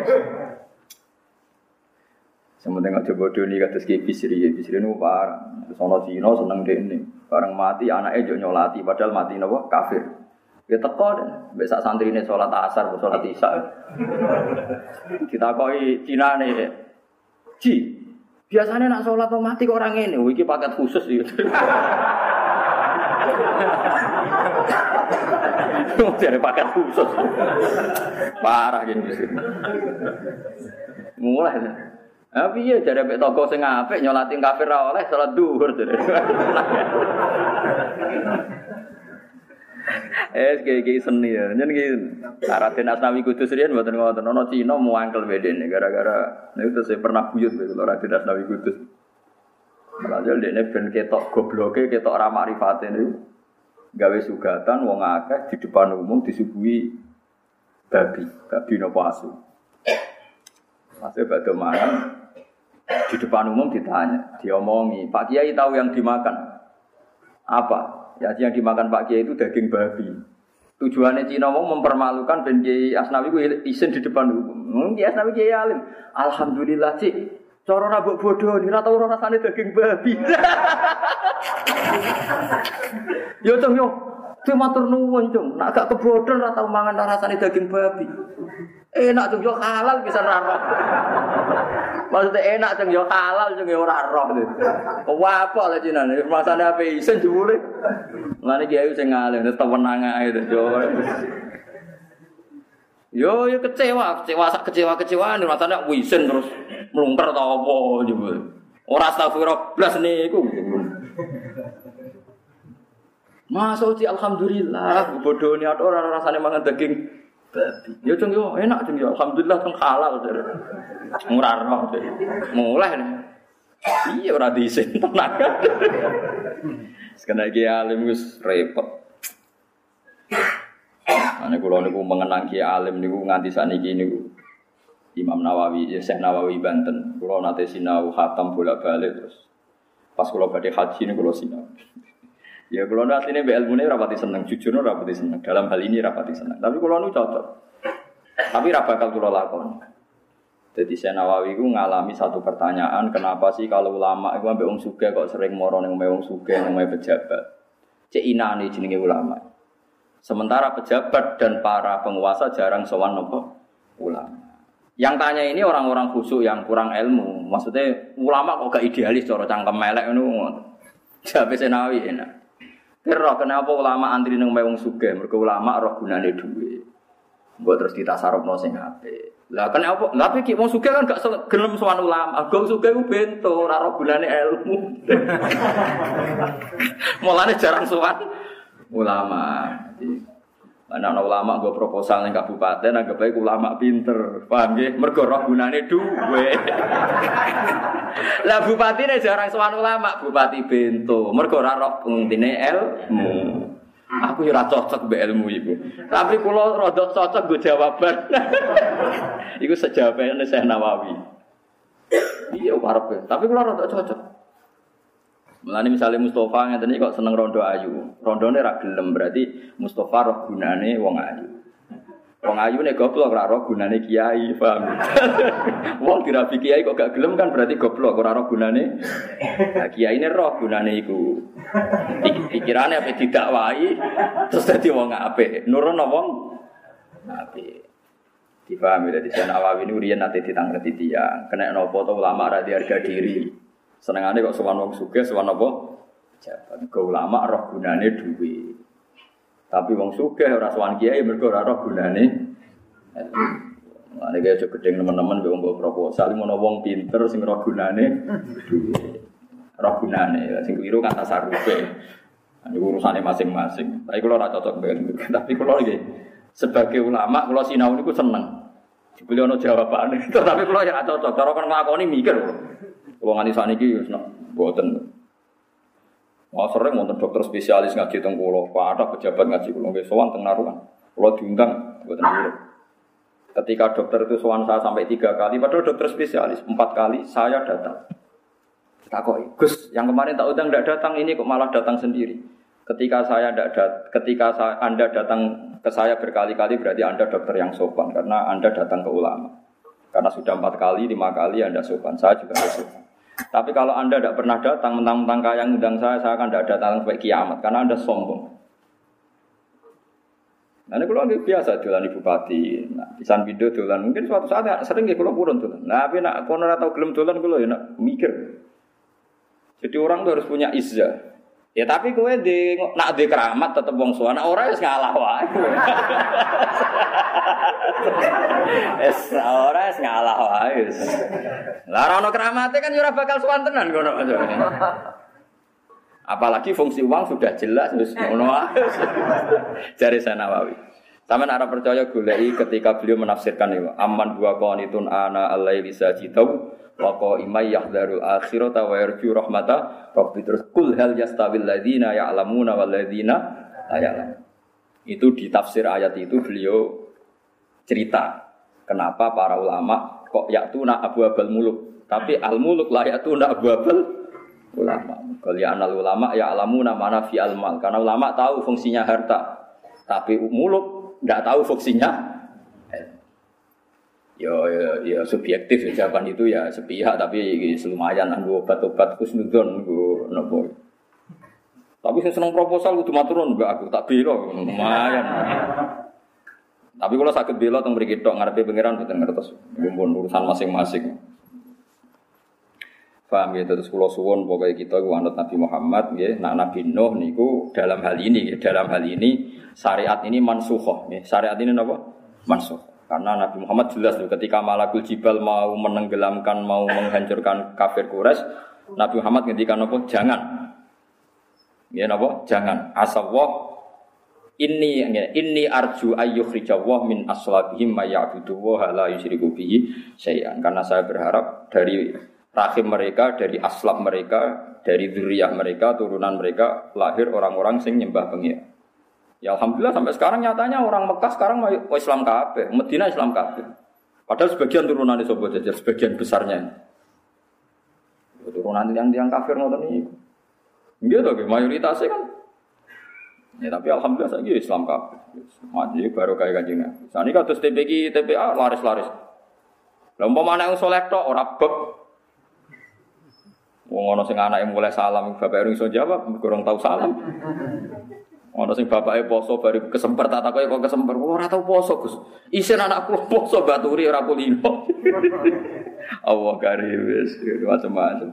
Sementing aja bodoni kados Ki Bisri niku parah. Terus ana Cina seneng dene. Bareng mati anake yo nyolati padahal mati napa kafir. Ya teko mbek sak santrine salat asar, salat isya. Ditakoki Cinane Ji, biasanya nak sholat atau mati kok orang ini, iki paket khusus gitu. Jadi paket khusus, parah gini. Mulai. Tapi ya jare mek toko sing apik nyolati kafir ra oleh salat zuhur jare. Kayak seni ya. Nyen iki Raden Asnawi Kudus riyen mboten ngoten. Ana Cina muangkel bedene gara-gara niku saya pernah buyut lho Raden Asnawi Kudus. Malah dene ben ketok gobloke, ketok ra makrifate niku. Gawe sugatan wong akeh di depan umum disuguhi babi napa asu. Masih badhe mangan di depan umum ditanya, diomongi, "Pak Kiai tahu yang dimakan?" Apa? Ya yang dimakan Pak Kiai itu daging babi. Tujuannya Cina mau mempermalukan Ben Kiai Asnawi ku isin di depan umum. Kiai Asnawi Kiai alim. Alhamdulillah, Cik. Cara rabuk bodoh ni ra tau rasane daging babi. Yo cung yo. Ku matur nuwun cung. Nek gak kebodhon ra tau mangan rasane daging babi. Enak cung yo halal bisa ra roh. Maksudnya enak cung yo halal cung yo ora roh. Wapok lah Cina ni masane ape isen jebule. Mulane kiai sing ngalim tewenang ae yo. Yo kecewa-kecewaan rasane wisen terus mlungker ta apa jebule. Ora astagfirullah blas niku. Masuk alhamdulillah bodone ora rasane mangan daging babi. Yo cung yo enak cung yo alhamdulillah cung halal jare. Ora roh jare. Mulai. Iya ora diisin tenan. Sekena iki alim wis repot. Ane kula niku mengenang Ki alim niku nganti sakniki niku Imam Nawawi, Syekh Nawawi Banten. Kula nate sinau khatam bolak-balik terus. Pas kula badhe haji niku kula sinau. Ya kula asline mbek ilmune rapati seneng, jujur ora rapati seneng. Dalam hal ini rapati seneng. Tapi kula nu cocok. Tapi ra bakal kula lakoni. Jadi Syekh Nawawi ku ngalami satu pertanyaan, kenapa sih kalau ulama iku ambek wong sugih kok sering moro ning wong sugih ning pejabat. Cek inane jenenge ulama. Sementara pejabat dan para penguasa jarang sowan nopo ulama. Yang tanya ini orang-orang khusyuk yang kurang ilmu. Maksudnya ulama kok gak idealis cara cangkem elek ngono. Jabe Senawi enak. Kira kenapa ulama antri nang wong sugih? Mergo ulama roh gunane dhuwit. Mbok terus ditasarufno sing apik. Lah kenapa? Lah iki wong sugih kan gak gelem sowan ulama. Wong sugih ku bento ora roh gunane ilmu. Mulane jarang sowan ulama. Ana ulama nggo proposal ning kabupaten anggap bae ulama pinter. Paham nggih? Mergo roh gunane dhuwit. Lah bupatine jarang sowan ulama, bupati bento. Mergo ora roh pentingine ilmu. Aku ya ora cocok mbek ilmu iku. Tapi kula rada cocok nggo jawaban. Iku sejawabane Syekh Nawawi. Iya karepe, tapi kula rada cocok. Mulane misale Mustofa ngeten iki kok seneng rondo ayu. Rondone ra gelem berarti Mustofa roh gunane wong ayu. Wong ayu nek goblok ora roh gunane kiai, paham. Wong dirabi kiai kok gak gelem kan berarti goblok ora roh gunane. Lah kiyaine roh gunane iku. Pikirane ape didakwahi terus dadi wong apik. Nurono wong apik. Dipahami dadi Nawawi niku riyen nate ditangreti tiyang. Kena napa to ulama ra diharga diri. Senengane kok sowan wong sugih sowan apa? Jabat. Go ulama roh gunane dhuwit. Tapi wong sugih ora sowan kiai mergo ora roh gunane. Ane kaya aja gedeng teman-teman mbek wong proposal ngono wong pinter sing roh gunane dhuwit. Roh gunane sing keliru kan tasarufe. Ini urusane masing-masing. Tapi kula ora cocok mbek. Tapi kula iki sebagai ulama kula sinau niku seneng. Dibeli ana jawabane. Tapi kula ya cocok. Cara kon nglakoni mikir kula. Wong nganti sakniki wis mboten. Wah sering wonten dokter spesialis ngaji teng kula, ada pejabat ngaji kula nggih sowan teng Narukan. Kula diundang mboten nurut. Ketika dokter itu sowan saya sampai 3 kali, padahal dokter spesialis 4 kali saya datang. Takoki, "Gus, yang kemarin tak undang enggak datang ini kok malah datang sendiri." Ketika Anda datang ke saya berkali-kali berarti Anda dokter yang sopan karena Anda datang ke ulama. Karena sudah 4 kali, 5 kali Anda sopan, saya juga sopan. Tapi kalau Anda tidak pernah datang, mentang-mentang kaya ngundang saya akan tidak datang sampai kiamat karena Anda sombong. Nah, ini kalau biasa dolan ibu bupati, nah, pisan video dolan mungkin suatu saat sering nggih kula purun dolan. Nah, tapi nak kono ora tau gelem dolan kula ya nak mikir. Jadi orang tuh harus punya izzah. Ya tapi kowe nak di keramat tetep wong suwana ora wis ngalah wae. Ora wis ngalah wae. Lah ora ono keramate kan ora bakal suwantenan ngono. Apalagi fungsi uang sudah jelas wis ngono wae. Jare Nawawi. Sampeyan ora percaya goleki ketika beliau menafsirkan itu. Amman huwa qanitun ana al-laili sajidau wa qa'imay yahdharul akhirata wa yarju rahmata rabbi terus kul hal yastawil ladzina ya'lamuna wal ladzina la ya'lamun. Itu di tafsir ayat itu beliau cerita kenapa para ulama kok ya'tuna abwabal muluk tapi al muluk la ya'tuna abwabal ulama. Kalian ulama ya'lamuna mana fi al mal karena ulama tahu fungsinya harta tapi muluk enggak tahu fungsinya. Ya subjektif ya, jawaban itu ya sepihak tapi lumayan nggo obat-obat kusnudon nggo nopo. Tapi sing seneng proposal kudu maturun mbak aku tak bela lumayan. Tapi kalau sakit bela teng mriki tok ngarepe pangeran mboten ngertos mumpun urusan masing-masing. Paham ya terus kula suwun pokoke kita iku anut Nabi Muhammad nggih, nak Nabi Nuh niku dalam hal ini syariat ini mansukhoh nggih. Syariat ini napa? Mansukh. Karena Nabi Muhammad jelas loh, ketika Malakul Jibal mau menenggelamkan, mau menghancurkan kafir Quraisy, Nabi Muhammad ngendikan apa? Jangan. Ya napa? Jangan. Asawah inni arju ayyukhrijawah min aslabihim may ya'budu wa la yusyriku bihi syai'an. Karena saya berharap dari rahim mereka, dari aslab mereka, dari dzurriyyah mereka, turunan mereka lahir orang-orang sing nyembah pengira. Ya alhamdulillah sampai sekarang nyatanya orang Mekah sekarang Islam kabeh, Madinah Islam kabeh. Padahal sebagian turunan Sobo Jajar, sebagian besarnya. Turunan yang kafir ngoten niku. Nggih to, mayoritasnya kan. Ya tapi alhamdulillah saiki Islam kabeh. Mati baru kaya Kanjeng Nabi. Sane kados TPQ, TPA laris-laris. Lah umpama anak saleh tok ora beb. Wong ana sing anake mulai salam bapak iso jawab, kurang tahu salam. Ono sing bapake poso bari kesemper tak takoki kok kesemper ora tau poso Gus. Isin anakku poso baturi ora kulino. Allah karim wis macam-macam.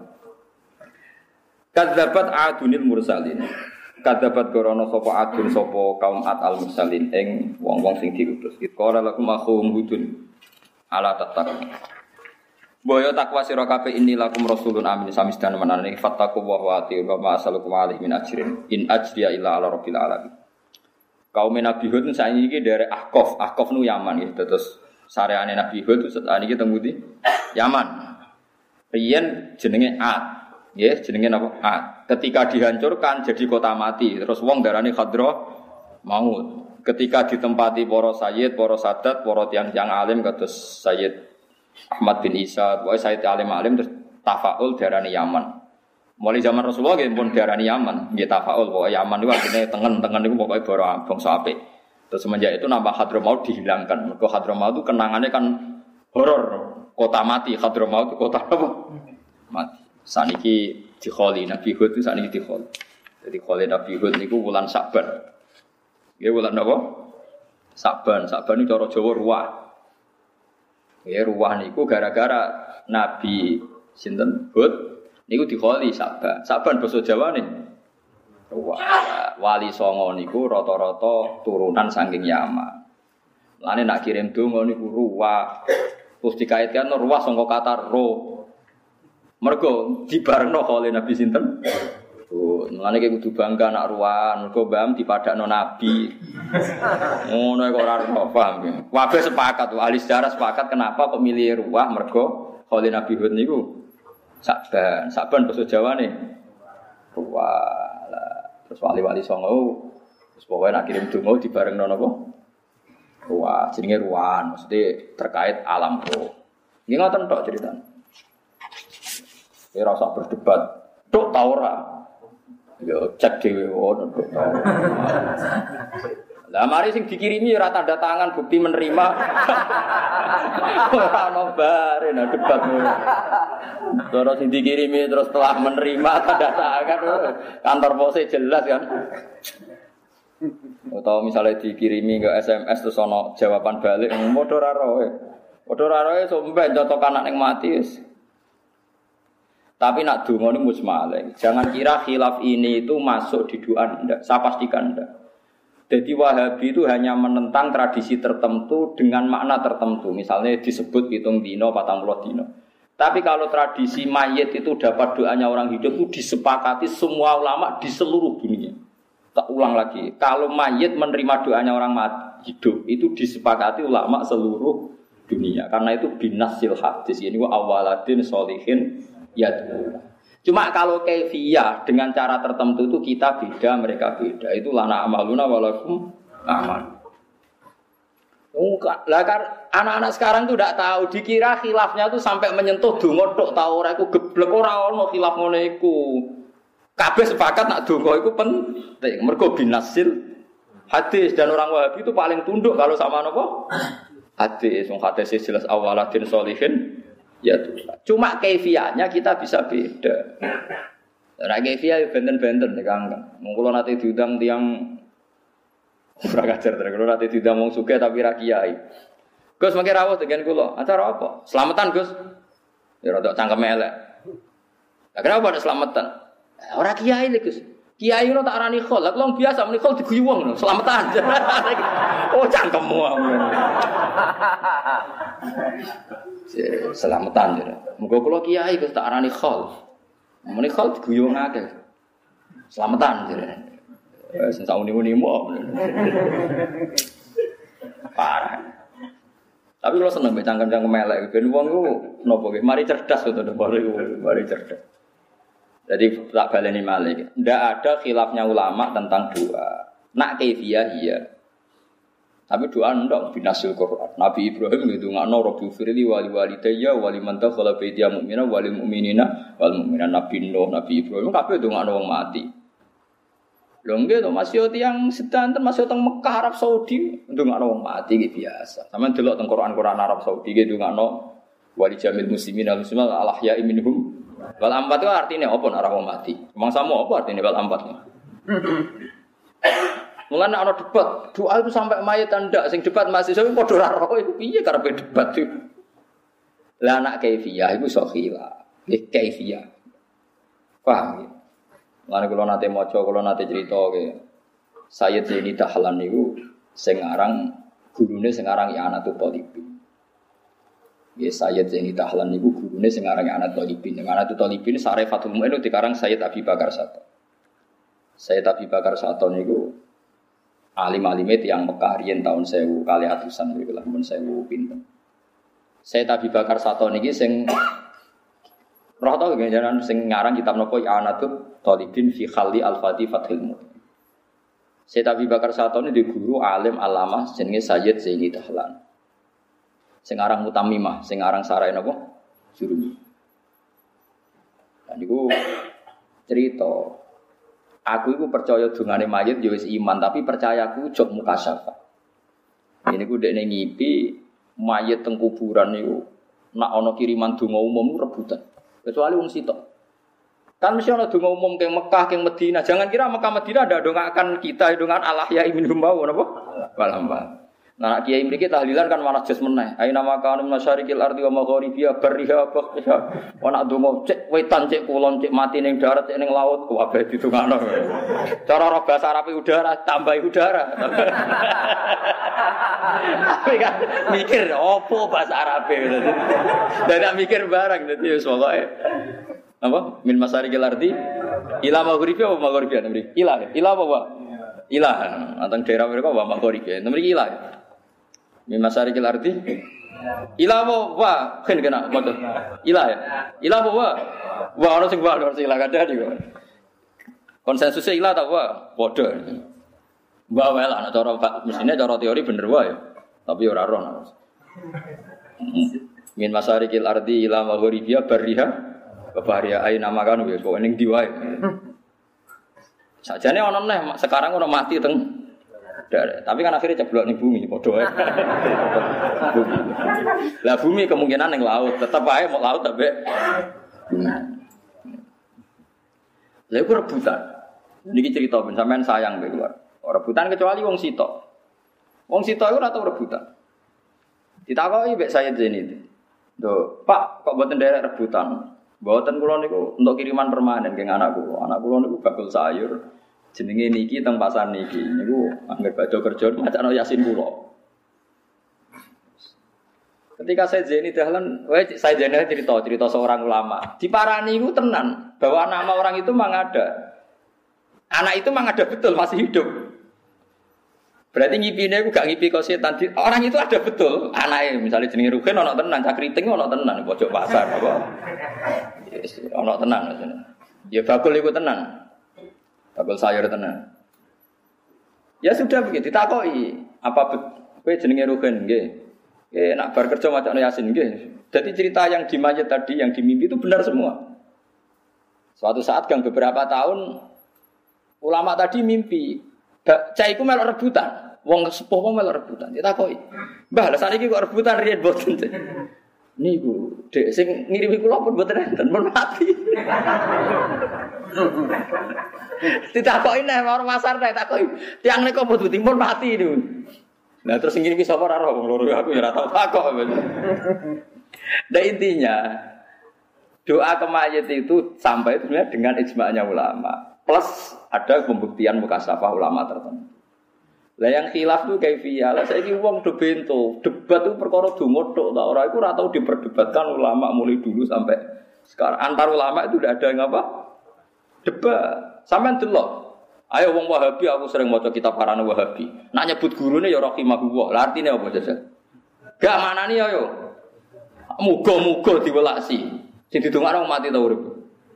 Kadzabat adunil mursalin. Kadzabat gorono sapa adun sapa kaum al mursalin ing wong-wong sing diutus. Qala lakum akhum hudun ala tattaqun. Boyo takwa sira kabeh inilakum rasulun amin samisdan menane fattaqu wa atiiu wa ma asalukum alaihi min ajrin in ajriya illa ala rabbil alamin. Kaum Nabi Hud saiki iki derek Ahqaf nu Yaman ya terus sareane Nabi Hud saat iki teng pundi? Yaman. Riyen jenenge Ad. Nggih, jenenge napa? Ad. Ketika dihancurkan jadi kota mati, terus wong darani Khadra maut. Ketika ditempati para sayyid, para sadat, para tiyang-tiyang alim kados Sayyid Ahmad bin Isa, pokoknya Sayyid alim-alim terus tafaul darani Yaman. Mulai zaman Rasulullah nggih pun darani Yaman, nggih tafaul pokoknya Yaman itu artinya tengen niku pokoknya bangsa apik. Terus semenjak itu nama Hadramaut dihilangkan. Mergo Hadramaut itu kenangannya kan horor, kota mati. Hadramaut itu kota apa? Mati. Saniki dikholi Nabi Hud itu saniki dikholi. Jadi kholi Nabi Hud niku wulan Sa'ban. Nggih wulan apa? Sa'ban itu cara Jawa ruwah. Ya ruwah niku gara-gara Nabi sinten Hud niku dikholi Sa'ban. Sa'ban basa Jawane ruwah. Wali Songo niku rata-rata turunan saking Yaman. Lane nak kirim donga niku ruwah. Terus dikaitkan ruwah saka kata roh. Mergo dibarengno kholi Nabi sinten? Mulane ki kudu bangga nak ruwan, mergo mbam dipadakno nabi. Ngono kok ora paham ya. Kabeh sepakat, ahli sejarah sepakat kenapa kok milih ruwah mergo kholi Nabi Hud niku Sa'ban basa Jawane. Ruwah. Terus wali-wali Songo terus pokoke nak kirim donga dibarengno napa? Ruwah, jenenge ruwan, maksudnya terkait alam roh. Nggih ngoten tok ceritane. Ora usah berdebat. Tok ta ora? Ya cek dhewe ngono tok. Lah mari sing dikirimi ora tanda tangan bukti menerima. Ora ono bare nah debat ngono. Terus sing dikirimi terus telah menerima tanda tangan kantor pose jelas kan. Atau misalnya dikirimi ke SMS terus ono jawaban balik padha ora roe. Padha ora roe somben cocok anak ning mati wis. Tapi nak donga niku musmaleh. Jangan kira khilaf ini itu masuk di doa ndak. Saya pastikan ndak. Jadi Wahabi itu hanya menentang tradisi tertentu dengan makna tertentu. Misalnya disebut hitung dino, 40 dino. Tapi kalau tradisi mayit itu dapat doanya orang hidup itu disepakati semua ulama di seluruh dunia. Tak ulang lagi. Kalau mayit menerima doanya orang hidup itu disepakati ulama seluruh dunia. Karena itu binasil hadis. Ini wa awaladin sholihin yad'u. Cuma kalau kaifiyah dengan cara tertentu itu kita beda, mereka beda. Itu lana amaluna walakum amal. Lah kan anak-anak sekarang tuh tidak tahu, dikira khilafnya tuh sampai menyentuh donga tok ta ora iku geblek ora ono khilaf ngene iku. Kabeh sepakat nak donga iku penting. Mergo binasil hadis dan orang Wahabi itu paling tunduk kalau sama napa? Hadis. Wong hadis jelas awaladin sholihin. Ya tuh. Cuma kaifiyahnya kita bisa beda. Ora kaifiyah benten-benten nek Kang. Mung kula nate diundang tiyang ora kajar terus kula nate diundang wong sugih tapi ra kiai. Gus mangke rawuh dengan kula. Acara apa? Selamatan, Gus. Ya rada cangkeme elek. Lah kenapa ada selamatan? Ora kiai lho, Gus. Kiai ngono tak arani khol. Lah kula biasa muni khol diguyu wong lho, selamatan. Oh cangkemmu. Selamatan ya. Muga kula kiai Gus tak arani khol. Muni khol diguyu wong akeh. Selamatan jare. Wis sak uni-unimu. Parah. Tapi kula seneng mbek cangkem-cangkem elek ben wong iku napa nggih mari cerdas to mari cerdas. Jadi tak baleni malih. Ndak ada khilafnya ulama tentang doa. Nak kaifiyah iya. Tapi doa ndak binasul Quran. Nabi Ibrahim ngedongakno Rabbi firli wali walidayya wali man dakhala baitiya mu'mina wal mu'minina wal mu'minat. Nabi Nuh, Nabi Ibrahim kabeh ndongakno wong mati. Lho nggih to masih tiyang sedanten masih teng Mekah Arab Saudi ndongakno wong mati iki biasa. Sampeyan delok teng Quran Arab Saudi iki ndongakno wali jamil muslimin al muslimat al ahya'i minhum wal amwat itu artinya apa nek ora wong mati? Mangsamu apa artinya wal amwat? Mulane ana debat, doa itu sampai mayit ndak sing debat mahasiswa padha ora roh iku piye karepe debat itu. Lah anak kaifiyah iku iso khilaf. Nggih kaifiyah. Paham ya? Mulane kula nate maca, kula nate crita ke Sayyid Zaini Dahlan niku sing aran gurune sing aran ya Anatul Talibin. Ya Sayyid Zaini Dahlan niku gurune sing aran Anatul Talibin. Anatul Talibin Sarifatul Mu'min dikarang Sayyid Abi Bakar Sato. Sayyid Abi Bakar Sato niku alim-alime tiyang Mekah riyen taun 1000 kali atusan niku lah mun 1000 pinten. Sayyid Abi Bakar Sato niki sing roh to ganjaran sing ngarang kitab napa ya Anatul Talibin fi Khalli Al-Fati Fathil Mu'min. Sayyid Abi Bakar Sato ini di guru alim alamah jenenge Sayyid Zaini Dahlan. Sing aran Mutamimah, sing aran sarai napa? Jurumi. Lan niku cerita, aku iku percaya dungane mayit ya wis iman, tapi percayaku jog mukasyafah. Ini ku dekne ngipi mayit teng kuburan niku nak ana kiriman donga umum rebutan. Kecuali wong sitok. Kan mesti ana donga umum ke Mekah, ke Madinah. Jangan kira Mekah Madinah ada dongakan kita, dongan Allah ya minhum wa napa? Walamba. Nah kiai mriki tahlilan kan malah jas meneh. Aina makanu masyarikil ardi wa magharibiha barriha baqiha. Wa nak donga cek wetan cek kulon cek mati ning darat cek ning laut kabeh ditungakno. Cara roh basa Arabe udara tambahi udara. Tapi kan mikir opo bahasa Arabe. Dan mikir barang dadi wis pokoke apa min masyarikil ardi ila magharibiha wa magharibiha mriki. Ila apa wa? Ila. Anteng daerah mereka wa magharibiha. Mriki ila. Min masyarikil ardi ila wa kan kena moto ila ya ila wa ono sing wa ono sing ila kadang iki konsensusnya ila ta wa padha wa wae lah cara mesine cara teori bener wae tapi ora roh min masyarikil ardi ila magharibiha barriha bahariya aina makan wis kok ning ndi wae sajane ono neh sekarang ono mati teng tapi kan akhirnya ceblok ning bumi padha wae. Lah bumi kemungkinan ning laut, tetep ae mau laut tapi bumi. Lha iku rebutan. Niki cerita ben sampean sayang mbek keluar. Ora rebutan kecuali wong sitok. Wong sitok iku ora tau rebutan. Ditakoki mbek saya Zaini. Lho, Pak, kok mboten derek rebutan? Mboten kula niku untuk kiriman permanen keng anak kula. Anak kula niku bakul sayur. Jenenge niki teng pasar niki. Niku anggere badhe kerja macakno Yasin kula. Ketika saya Zaini Dahlan, saya Zaini cerita seorang ulama. Diparani itu tenan bahwa nama orang itu memang ada. Anak itu memang ada betul masih hidup. Berarti ngipine aku gak ngipi kok setan. Orang itu ada betul. Anaknya misalnya jenenge Rugen ono tenan, Cak Kriting ono tenan pojok pasar apa. Yes, ono tenan maksudnya. Ya bakul iku tenan. Bakul sayur tenan. Ya sudah begitu ditakoki, apa kowe jenenge Rugen nggih? Nak bar kerja macam Yasin nggih. Jadi cerita yang di mayat tadi yang di mimpi itu benar semua. Suatu saat gang beberapa tahun ulama tadi mimpi, cah iku melok rebutan. Wong sepuh wong melok rebutan. Ditakoki, "Mbah, lha saniki kok rebutan riyen boten?" Niku, Dek sing ngirimi kula pun boten enten, pun mati. Ditakoki nek orang pasar nek takoki, "Tiang niku pun timun mati niku." Nah terus ngene iki sapa ora roh wong loro aku ya ora tau takok. Nah intinya doa ke mayit itu sampai itu sebenarnya dengan ijma'nya ulama. Plus ada pembuktian mukasafah ulama tertentu. Lah yang khilaf tuh kaifiyah. Lah saiki wong do bento, debat itu perkara donga tok ta ora iku ora tau diperdebatkan ulama mulai dulu sampai sekarang. Antar ulama itu udah ada yang apa? Debat. Sampeyan delok. Ayo wong Wahabi aku sering maca kitab karane Wahabi. Nak nyebut gurune ya rahimahullah. Lah artine apa jajal? Gak manani ayo. Muga-muga diwelasi. Sing didongakno mati ta urip.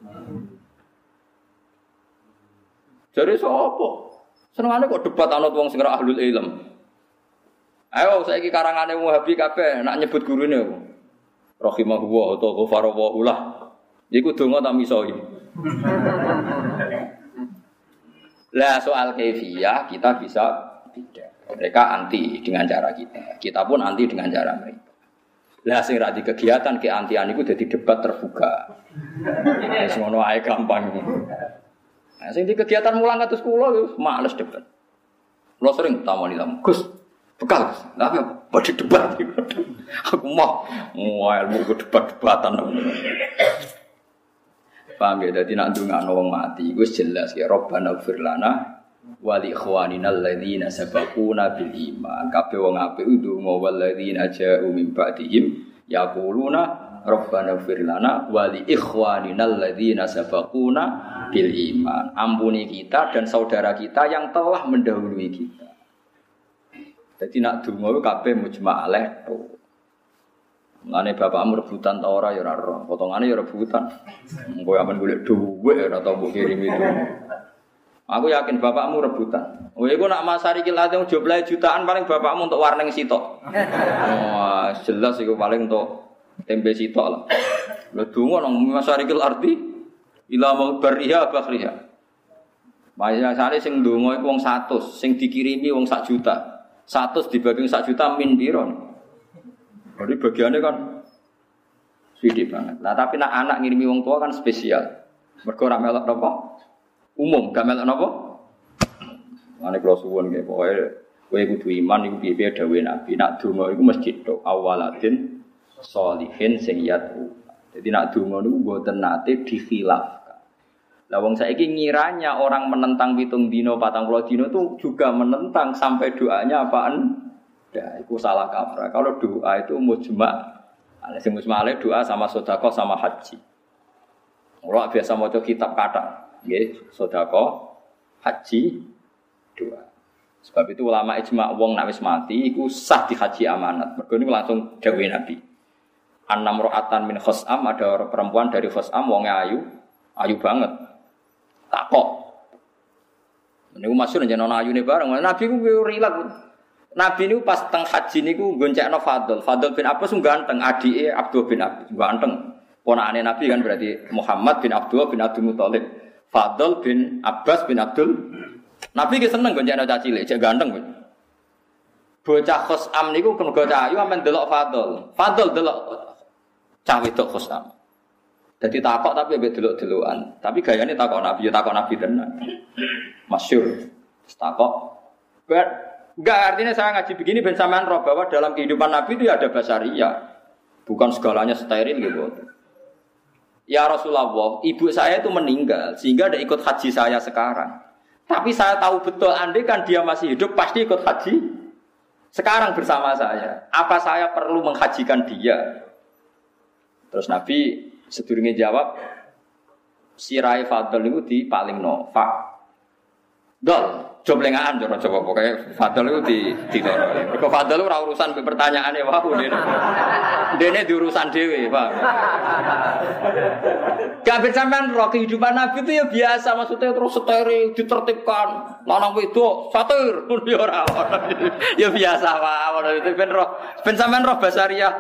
Jare sapa? Senengane kok debat anut wong sing ora ahlul ilm. Ayo saiki karangane Wahabi kabeh nak nyebut gurune apa? Rahimahullah utawa ghafarallahu lah. Iku donga ta misoi. Lah soal kaifiyah kita bisa beda. Mereka anti dengan cara kita. Kita pun anti dengan cara mereka. Lah sing ra di kegiatan keantian iku dadi debat terbuka. Wis ngono ae gampang. Nah sing di kegiatan mulang kados kula wis males debat. Kula sering tamoni tamu. Gus, bekal. Lah apa badhe debat. Aku mau ilmu debat-debatan. Paham ya, jadi nak ndongakno wong mati iku jelas ya Rabbana ighfir lana wa li ikhwanina alladzina sabaquna bil iman. Kabeh wong apik ndonga wal ladzina ja'u min ba'dihim yaquluna Rabbana ighfir lana wa li ikhwanina alladzina sabaquna bil iman. Ampuni kita dan saudara kita yang telah mendahului kita. Jadi nak ndonga kabeh mujma' alaih to. Mulane bapakmu rebutan ta ora ya ora roh. Potongane ya rebutan. Engko amen golek dhuwit ora tau mbok kirim itu. Aku yakin bapakmu rebutan. Kowe iku nak masari ki late jumlahe jutaan paling bapakmu untuk warning sitok. Wah, jelas iku paling untuk tempe sitok lah. Lha donga nang masari ki arti ila mau bariha bakhriha. Masare sing donga iku wong 100, sing dikirimi wong 1 juta. 100 dibagi 1 juta min piro? Jadi bagiannya kan sedih banget. Nah tapi nak anak ngirimi wong tua kan spesial. Mergo ora melok napa? Umum, gak melok napa? Mane kula suwun nggih pokoke kowe kudu iman iku piye-piye dawuhe Nabi. Nak donga iku masjid tok awaladin sholihin sing yatu. Jadi nak donga niku mboten nate dikhilafkan. Lah wong saiki ngiranya orang menentang 7 dina 40 dina itu juga menentang sampai doanya apaan? Ya, itu salah kaprah. Kalau doa itu mujma'. Sing mujma' doa sama sedekah sama haji. Ora biasa maca kitab kata, nggih, sedekah, haji, doa. Sebab itu ulama ijma' wong nek wis mati iku sah di haji amanat. Mergo niku langsung dawuh Nabi. Annam ra'atan min khosam, ada perempuan dari khosam wong ayu banget. Takok. Niku masyhur jenenge ayune bareng. Nabi ku rilak. Nabi niku pas teng haji niku goncekno Fadl. Fadl bin Abbas ganteng, adike Abdul bin Abbas ganteng. Ponakane Nabi kan berarti Muhammad bin Abdul bin Abdul Muthalib. Fadl bin Abbas bin Abdul. Nabi ki seneng goncekno cah cilik, cek ganteng. Bocah Khosam niku mergo cah ayu amen delok Fadl. Fadl delok cah wedok Khosam. Dadi takok tapi mbek delok-delokan. Tapi gayane takok Nabi tenan. Masyhur. Takok. Enggak, artinya saya ngaji begini ben sampean roh bahwa dalam kehidupan Nabi itu ada basaria. Bukan segalanya steril gitu. Ya Rasulullah, ibu saya itu meninggal sehingga tidak ikut haji saya sekarang. Tapi saya tahu betul andai kan dia masih hidup pasti ikut haji sekarang bersama saya. Apa saya perlu menghajikan dia? Terus Nabi sedurunge jawab, sirai fadl itu di paling fa. Dol, joblengaan coba pokoknya fadl itu di doro. Mergo fadl ora urusan pertanyaane wae dene di urusan dhewe, Pak. Kabeh sampean roh kehidupan Nabi itu ya biasa, maksudnya terus steril, ditertibkan, lanang wedok, satir, ya ora. Ya biasa wae, itu ben sampean roh basariah.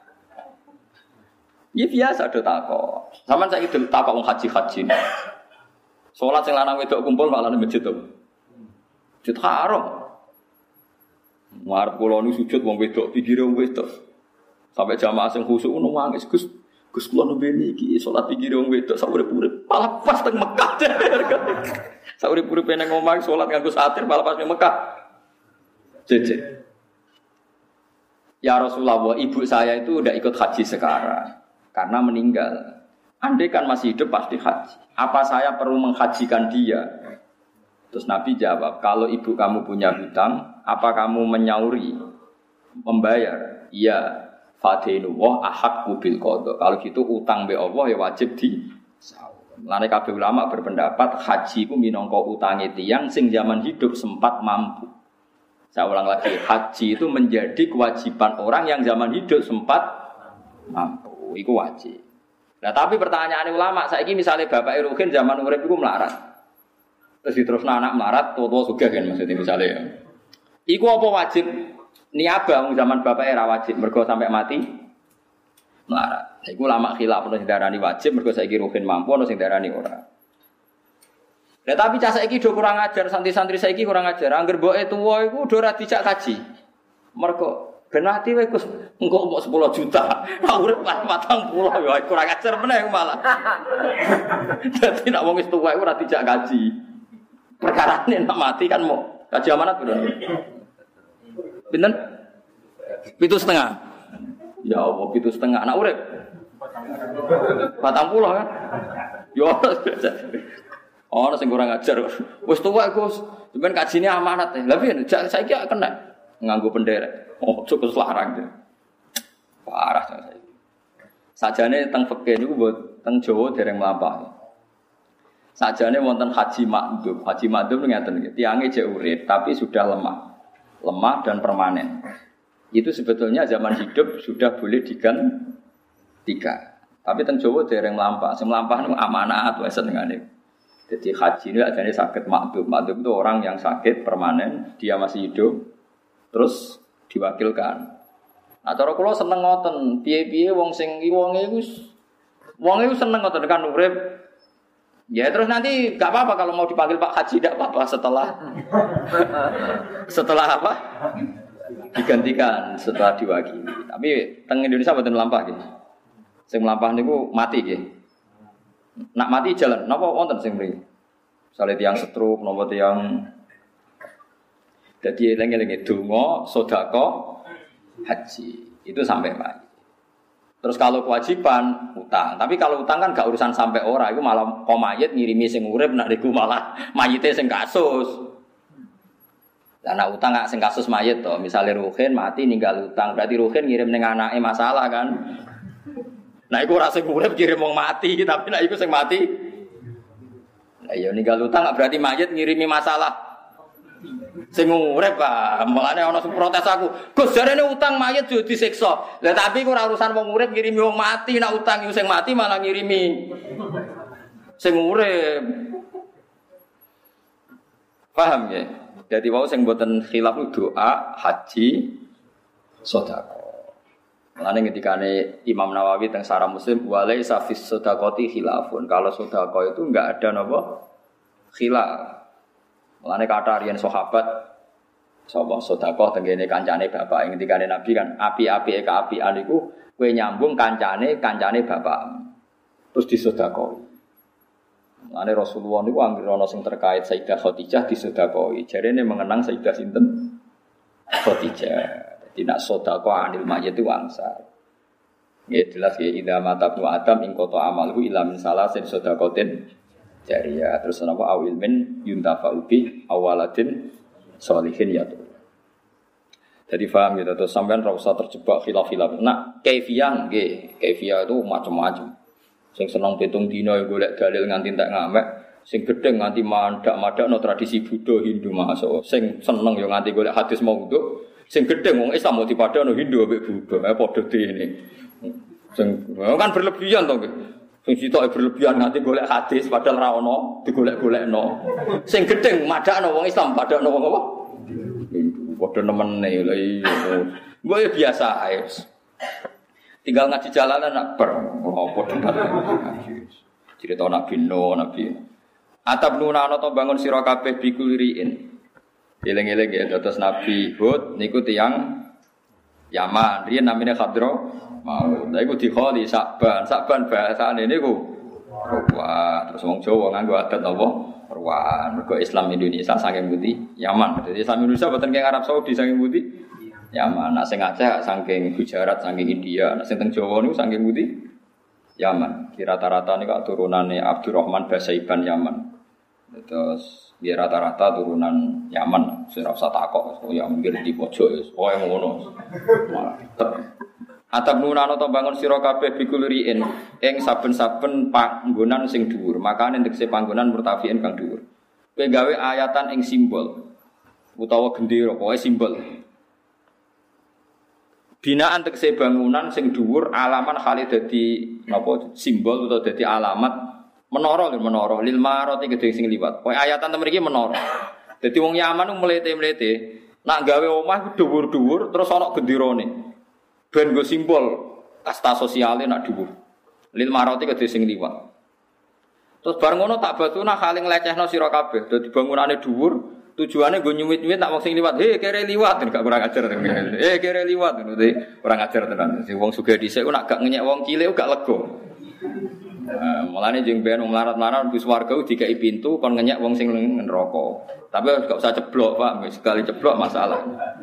Ya biasa do takok. Sampeyan saiki takok wong haji-haji. Salat sing lanang wedok kumpul malah nang masjid to. Masjid haram. Marep kula niku sujud wong wedok, pikire wong wedok. Sampai jamaah sing khusuk ngono nangis, Gus kula nembe iki salat pikire wong wedok sak urip-urip malah pas teng Mekah. Sak urip-uripe nang omah salat nganggo satir malah pas nang Mekah. Jeje. Ya Rasulullah, ibu saya itu udah ikut haji sekarang karena meninggal. Andai kan masih hidup pasti haji. Apa saya perlu menghajikan dia? Terus Nabi jawab, kalau ibu kamu punya hutang, apa kamu menyauri, membayar? Iya, fadinullah ahaqqu bil qada. Kalau gitu utang be Allah ya wajib di saur. Lane kabeh ulama berpendapat haji ku minangka utange tiyang sing zaman hidup sempat mampu. Saya ulang lagi, haji itu menjadi kewajiban orang yang zaman hidup sempat mampu. Itu wajib. Nah tapi pertanyaan ulama, saiki misalnya bapak Ruhin zaman urip iku melarat. Terus diterusno anak melarat, tua sugih kan maksudnya misalnya ya. Iku apa wajib? Niabah zaman bapak era wajib mergo sampai mati melarat. Iku ulama khilaf ono sing darani wajib mergo saiki Ruhin mampu ono sing darani ora. Lah tapi cah saiki do kurang ajar, santri-santri saiki kurang ajar. Angger mboke tuwa iku do ora dijak kaji. Mergo ben mati wae Gus, engko mbok 10 juta. Ora urip 40 ya kurang ajar meneh malah. Dadi nek wong wis tuwa iku ora dijak kaji. Perkarane nek mati kan mau kaji amanat piro? Pinten? 7,5. Ya Allah, 7,5 anak urip. 40 kan? Yo ora sing kurang ajar. Wis tuwa Gus, sampeyan kajine amanat. Lah piye saiki kena nganggo penderek. Oh, cukup larang deh. Parah saya. Sajane teng fikih niku mbok teng Jawa dereng mlampah. Sajane wonten haji makdum. Haji makdum ngeten iki, tiange jek urip tapi sudah lemah. Lemah dan permanen. Itu sebetulnya zaman hidup sudah boleh digantikan. Tapi teng Jawa dereng mlampah. Sing mlampah niku amanat wae senengane. Jadi haji ini adanya sakit makdum. Makdum itu orang yang sakit permanen, dia masih hidup. Terus diwakilkan. Nah cara kula seneng ngoten, piye-piye wong sing wonge iku seneng ngoten kan urip. Ya terus nanti enggak apa-apa kalau mau dipanggil Pak Haji enggak apa-apa setelah apa? Digantikan setelah diwakili. Tapi teng Indonesia mboten mlampah nggih. Sing mlampah niku mati nggih. Nak mati jalan, napa wonten sing mriki? Misale tiyang stroke, napa tiyang jadi eling-eling donga, sedekah, haji. Itu sampai mati. Terus kalau kewajiban utang, tapi kalau utang kan gak urusan sampai ora, itu malah mayit ngirimi sing urip nek niku malah mayite sing kasus. Lah nek utang gak sing kasus mayit to, misale Ruhin mati ninggal utang, berarti Ruhin ngirim ning anake masalah kan. Nah iku ora sing urip kirim wong mati, tapi nek iku sing mati. Lah ya ninggal utang gak berarti mayit ngirimi masalah. Sing urip Pak, mulane ana sing protes aku. Gus jarene utang mayit yo disiksa. Lah tapi ora urusan wong urip ngirimi wong mati, nek utang yo sing mati malah ngirimi sing urip. Paham ya? Jadi wau sing mboten khilaf doa, haji, sedekah. Mulane ketikane Imam Nawawi teng Syarah Muslim walaisa fis sedaqati khilafun. Kalau sedekah itu enggak ada napa khilaf. Mulane kata riyen sahabat sapa sedekah tengene kancane bapak ing dikane Nabi kan api-apike kaapian iku kowe nyambung kancane bapak. Terus disedekahi. Mulane Rasulullah niku anggere ana sing terkait Sayyidah Khadijah disedekahi. Jarene mengenang Sayyidah sinten? Khadijah. Jadi nak sedekah anil mayit itu wangsa. Ya jelas ya idza mata ibnu adam ing qata amalhu ila min salasin sedaqatin jariyah terus napa awil min yuntafa'u bi awaladin sholihin ya tuh. Jadi paham gitu terus sampean ora usah terjebak khilaf-khilaf. Nak kaifiyah nggih, kaifiyah itu macam-macam. Sing seneng pitung dina golek dalil nganti entek ngamek, sing gedeng nganti mandak-mandakno tradisi Buddha Hindu masuk. Sing seneng yo nganti golek hadis maudhu, sing gedeng wong Islam mau dipadano Hindu ambek Buddha, padha dene. Sing kan berlebihan to nggih. Sing sitoke berlebihan nganti golek hadis padahal ra ono, digolek-golekno. Sing gedeng madakno wong Islam padakno wong apa? Hindu. Padha nemene lha iya. Mbok ya biasa ae. Tinggal ngaji jalanan nak ber apa debat. Cerita Nabi Nuh, Nabi. Atabnuna ana to bangun sira kabeh bikuliriin. Eling-eling ya terus Nabi Hud niku tiyang Yaman, riyen namine Khadra. Mau, lha iku dikholi Sakban bahasane niku Ruwan. Terus wong Jawa nganggo adat apa? Ruwan. Mergo Islam Indonesia saking pundi? Yaman. Jadi Islam Indonesia boten kaya Arab Saudi saking pundi? Yaman. Nek sing Aceh saking Gujarat, saking India, nek sing teng Jawa niku saking pundi? Yaman. Ki rata-rata niku turunane Abdurrahman Basaiban Yaman. Terus dia rata-rata turunan Yaman. Sing ora usah takok, ya mungkin di pojok wis koyo ngono. Atabnuna ana ta bangun sira kabeh bikulriin ing saben-saben panggonan sing dhuwur, makane tekse panggonan murtafiin kang dhuwur. Kowe gawe ayatan ing simbol utawa gendera, pokoke simbol. Binaan tekse bangunan sing dhuwur alaman khali dadi napa simbol utawa dadi alamat menara lil marati gedhe sing liwat. Pokoke ayatan temen iki menara. Dadi wong Yaman mlete-mlete nak gawe omah dhuwur-dhuwur terus ana genderane. Ben go simbol kasta sosiale nak dhuwur. Lil marati kedhe sing liwat. Terus bar ngono tak batuna kaling lecehno sira kabeh. Dadi bangunane dhuwur, tujuane go nyuwit-nyuwit nak wong sing liwat. He kere liwat, gak kurang ajar. Kere liwat ngono iki. Kurang ajar tenan. Sing wong sugih dhisik ku nak gak ngenyek wong cilik gak lega. Mulane jeng ben melarat-melarat bus warga dikai pintu kon ngenyek wong sing neraka. Tapi gak usah ceblok, Pak. Sekali ceblok masalah.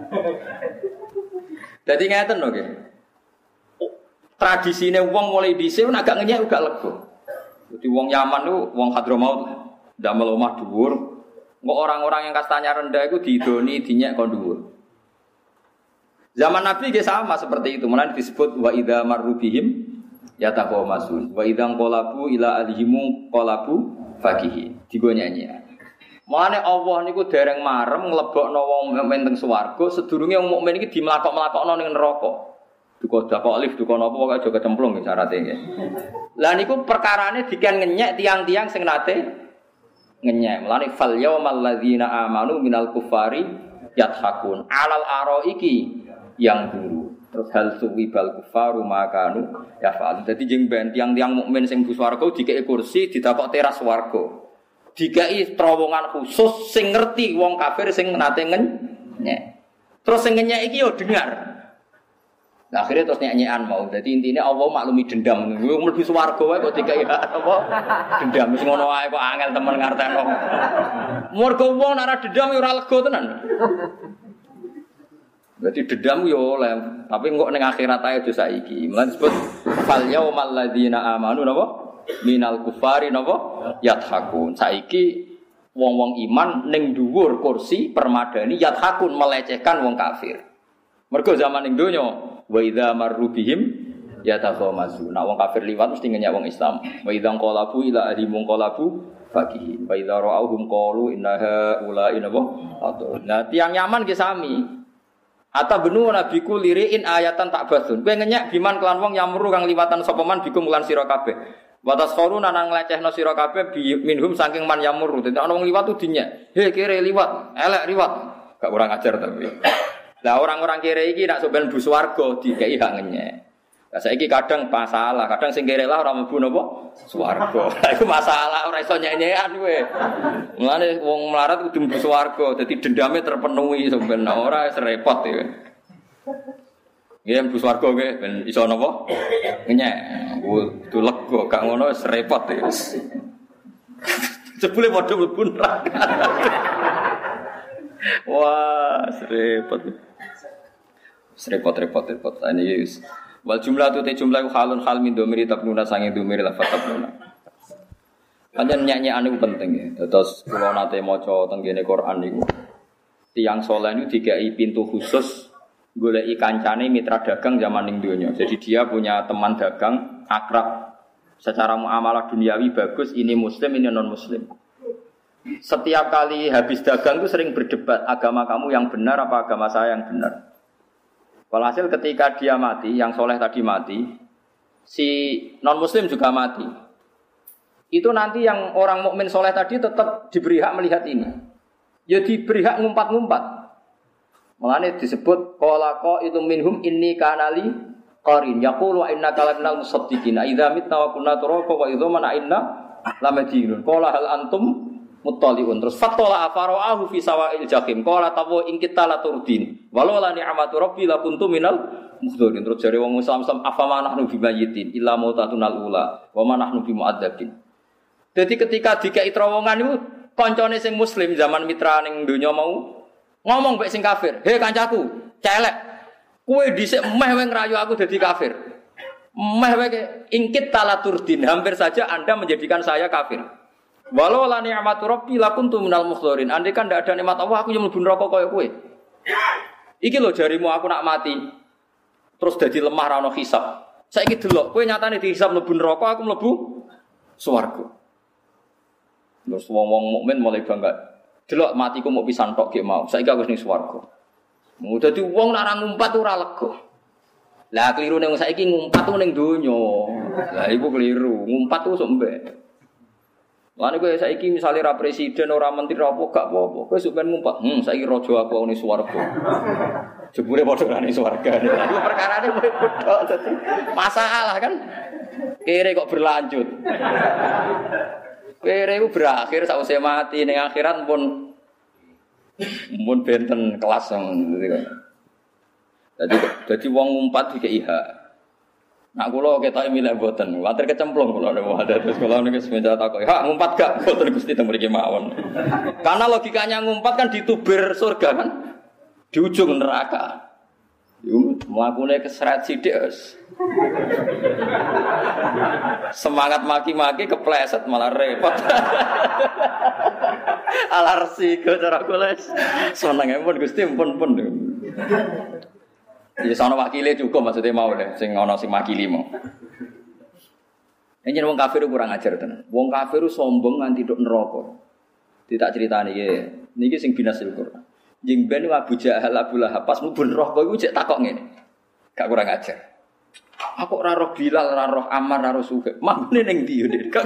Dadi ngeten lho nggih. Tradisine wong mulai dhisik nek gak ngenyek gak lega. Dadi wong Yaman niku wong Hadramaut ndamel omah dhuwur. Kok orang-orang yang kastanya rendah iku diidoni dinyek kon dhuwur. Zaman Nabi nggih sama seperti itu. Mulane disebut wa idza marru bihim yataqamasun. Wa idza qalabu ila alihim qalabu fakihi. Digo nyanyi. Mulane Allah niku dereng marem nglebokno wong mukmin teng swarga sedurunge wong mukmin iki dimlakok-mlakokno ning neraka. Duka dakok lift duka napa pokoke aja kecemplung nggih syaraté nggih. Lah niku perkarane diken ngenyek tiang-tiang sing nate ngenyek. Mulane fal yaumal ladzina amanu minal kuffari yathakun alal araiki yang dulu. Terus hal suwibal kuffaru makanu yafal. Dadi jeng ben tiang-tiang mukmin sing bu swarga dikeki kursi ditakok teras swarga. Dikai terowongan khusus sing ngerti wong kafir sing nate ngenyek. Terus sing ngenyek iki yo dengar. Nah, akhirnya terus nyanyian mau. Jadi intinya Allah maklumi dendam. Wong mlebu swarga wae kok dikai apa? Dendam wis ngono wae kok angel temen ngarteno. Mergo wong nek ora dendam yo ora lega tenan. Berarti dendam yo oleh, tapi kok ning akhirat ae aja saiki. Mulane disebut fal yaumal ladzina amanu napa? Minal kufari napa yathakun. Saiki wong-wong iman ning dhuwur kursi permadani yathakun melecehkan wong kafir. Mergo zaman ning donya wa idza marru bihim yataghamazu. Nek wong kafir liwat mesti ngenyek wong Islam. Wa idza qalabu ila ahlimum qalabu fakihi. Wa idza ra'awhum qalu innaha ula'i napa. Nah tiang Yaman ki sami. Ata benu nabiku liriin ayatan tak basun. Kowe ngenyek biman kelan wong yamru kang liwatan sapa man bikum lan sira kabeh. Watas koruna nang nglecehno sira kabeh minhum saking man yamur. Dadi ana wong liwat tuh dinyek. He kere liwat, elek liwat. Gak kurang ajar tapi. Lah orang-orang kere iki nak sampean bu swarga dikeki hak ngenyek. Lah saiki kadang masalah, kadang sing kere lah ora mlebu napa swarga. Lah iku masalah ora iso nyek-nyekan kowe. Mulane wong melarat kudu mlebu swarga, dadi dendame terpenuhi sampean ora repot ya. Nggih mlebu swarga nggih ben iso napa? Ngenyek. Kudu lega gak ngono wis repot ya. Jebule padha mlebu neraka. Wah, repot. Repot. Ini Wal jumlah tu te jumlah halun hal min domiri tabnuna sange domiri lafat tabnuna. Pancen nyanyi-nyane ku penting ya. Terus kula nate maca teng kene Quran niku. Tiyang saleh niku dikai pintu khusus goleki kancane mitra dagang zaman ning donya. Jadi dia punya teman dagang akrab. Secara muamalah duniawi bagus, ini muslim, ini non muslim. Setiap kali habis dagang itu sering berdebat, agama kamu yang benar apa agama saya yang benar. Walhasil ketika dia mati, yang soleh tadi mati, si non muslim juga mati. Itu nanti yang orang mukmin soleh tadi tetap diberi hak melihat ini. Ya diberi hak ngumpat-ngumpat. Makanya disebut qala qa'idu minhum inni kanali qarin yaqulu inna kalamnal musaddiqina idza mitna wa kunna turaba wa idza mana inna lamadinun qala hal antum muttaliun terus fatala afara'ahu fi sawa'il jahim qala tawu in kita la turdin walau la ni'matu rabbi la kuntu minal mukhdirin terus jare wong Islam afama nahnu bimayitin illa mautatunal ula wa ma nahnu bimu'adzabin. Jadi ketika dikai terowongan itu kancane sing muslim zaman mitra ning donya mau ngomong mek sing kafir, "He kancaku, celek. Kowe dhisik meh wae ngrayu aku dadi kafir. Meh wae ingkit talaturdin, hampir saja Anda menjadikan saya kafir. Walau la ni'matu rabbi lakuntu minal mukhdirin. Andai kan ndak ada nikmat Allah, aku yang mlebu neraka kaya kowe. Iki lho jarimu aku nak mati. Terus dadi lemah ra ono hisab. Saiki delok, kowe nyatane dihisab mlebu neraka, aku mlebu swarga. Terus wong-wong mukmin mulai bangga. Delok matiku mau pisan tok ge mau. Saiki aku wis ning swarga. Mau dadi wong nak ra ngumpat ora lega. Lah keliru ning saiki ngumpat ku ning donya. Lah iku keliru, ngumpat ku sok mbek. Lan kowe saiki misale ra presiden ora menteri apa gak apa-apa. Kowe sok ben ngumpat, saiki raja aku ning swarga. Jebule padha ra ning swarga. Iku perkarane tok dadi masalah kan. Kere kok berlanjut. Kere ku berakhir sakwise mati ning akhirat pun benten kelas ngono dadi wong ngumpat iki hak. Nak kula ketoke milih mboten, water kecemplung kula nek ada terus kula niku semenjak takoki, "Hak ngumpat gak?" Mboten Gusti teng mriki mawon. Karena logikanya ngumpat kan ditubir surga kan. Di ujung neraka. Yo mlakune keseret sithik wis. Semangat maki-maki kepleset malah repot. Alarsi ke cara kula seneng pun Gusti pun. Ya sono wakile cukup maksudnya mau deh sing ana sing makili mau. Yen wong kafir kurang ajar tenan. Wong kafir sombong nganti tok neraka. Ditak critani iki. Niki sing binasil Quran. Jeng ben Abu Jahal Abu Lahab pas mlebu neraka iku cek takok ngene. Gak kurang ajar. Aku ora roh Bilal, ora roh Ammar, ora roh Suhaib. Mambune ning ndi yo, Dik?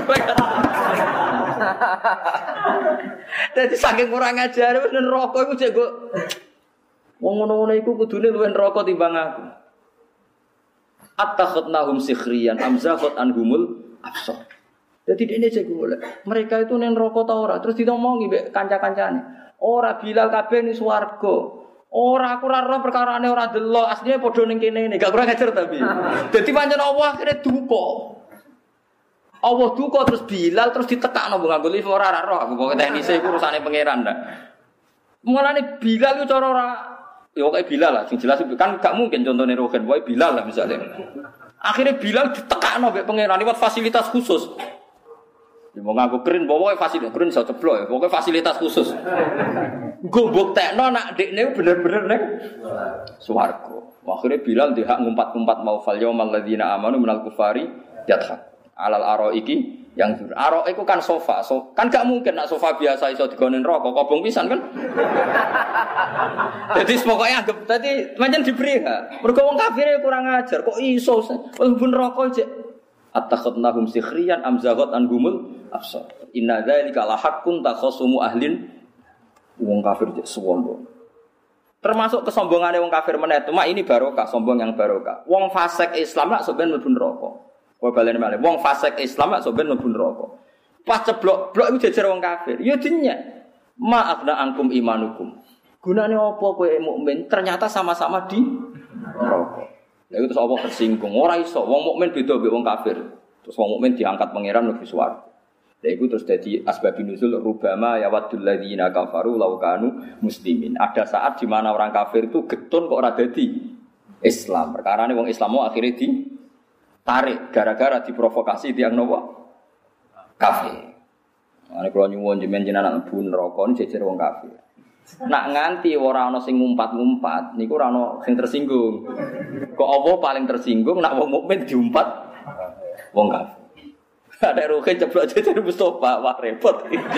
Dadi saking kurang ajar wis neraka iku cek kok wong ngono-ngono iku kudune luwih neraka timbang aku. Attakhadnahum sikhriyan amzaqat anhumul absar. Dadi dene cek golek. Mereka itu ning neraka ta ora? Terus ditomongi mbek kanca-kancane. Ora Bilal kabeh ning swarga. Ora aku ora roh perkarane ora delok, asline padha ning kene. Gak kurang ajar tapi. Dadi pancen Allah akhire duka. Allah duka terus Bilal terus ditekakno nganggo lift ora roh. Aku pokoke teknise iku urusane pangeran ndak. Mulane Bilal iku cara ora ya kaya Bilal lah, sing jelas kan gak mungkin contohnya Rogen, wae Bilal lah misalnya. Akhirnya Bilal ditekakno mbek pangeran lewat fasilitas khusus. Ya mau ngaku keren, bawa fasilitas keren iso ceblok ya, pokoknya fasilitas khusus. Nggo mbuktekno nak dekne bener-bener ning swarga. Akhirnya Bilal dihak ngumpat-ngumpat mau fal yaumal ladzina amanu minal kufari yadhak. Alal araiki yang aro iku kan sofa, kan gak mungkin nak sofa biasa iso digonen rokok, kobong pisan kan. Jadi pokoknya anggap tadi pancen diberi ha. Mergo wong kafire kurang ajar kok iso mlebu rokok cek. Attakhadnahum sikhriyan amzaghat anhumul absar. Inna dzalika la haqqun takhasumu ahlin wong kafir cek sombong. Termasuk kesombongane wong kafir meneh, cuma ini barokah, sombong yang barokah. Wong fasik Islam lak sampeyan mlebu rokok. Kowe baleni malih wong fasik Islam mak sampeyan mlebu neraka. Pas ceblok-blok iku jejer wong kafir. Ya dinyek. Ma'afna angkum imanukum. Gunane apa kowe mukmin ternyata sama-sama di neraka. Lha itu terus apa tersinggung. Ora iso wong mukmin beda mbek wong kafir. Terus wong mukmin diangkat pangeran mlebu swarga. Lha iku terus dadi asbabun nuzul rubama yawaddul ladzina kafaru law kanu muslimin. Ada saat di mana orang kafir itu getun kok ora dadi Islam. Perkarane wong Islam mau akhirnya ditarik gara-gara diprovokasi tiang nopo kafir. Ane kula nyuwun jenengan mlebu neraka jejer wong kafir. Nak nganti ora ana sing ngumpat-ngumpat niku ora ana sing tersinggung. Kok apa paling tersinggung nak wong mukmin diumpat wong kafir. Ada roke ceplok jejer Mustofa, wah repot.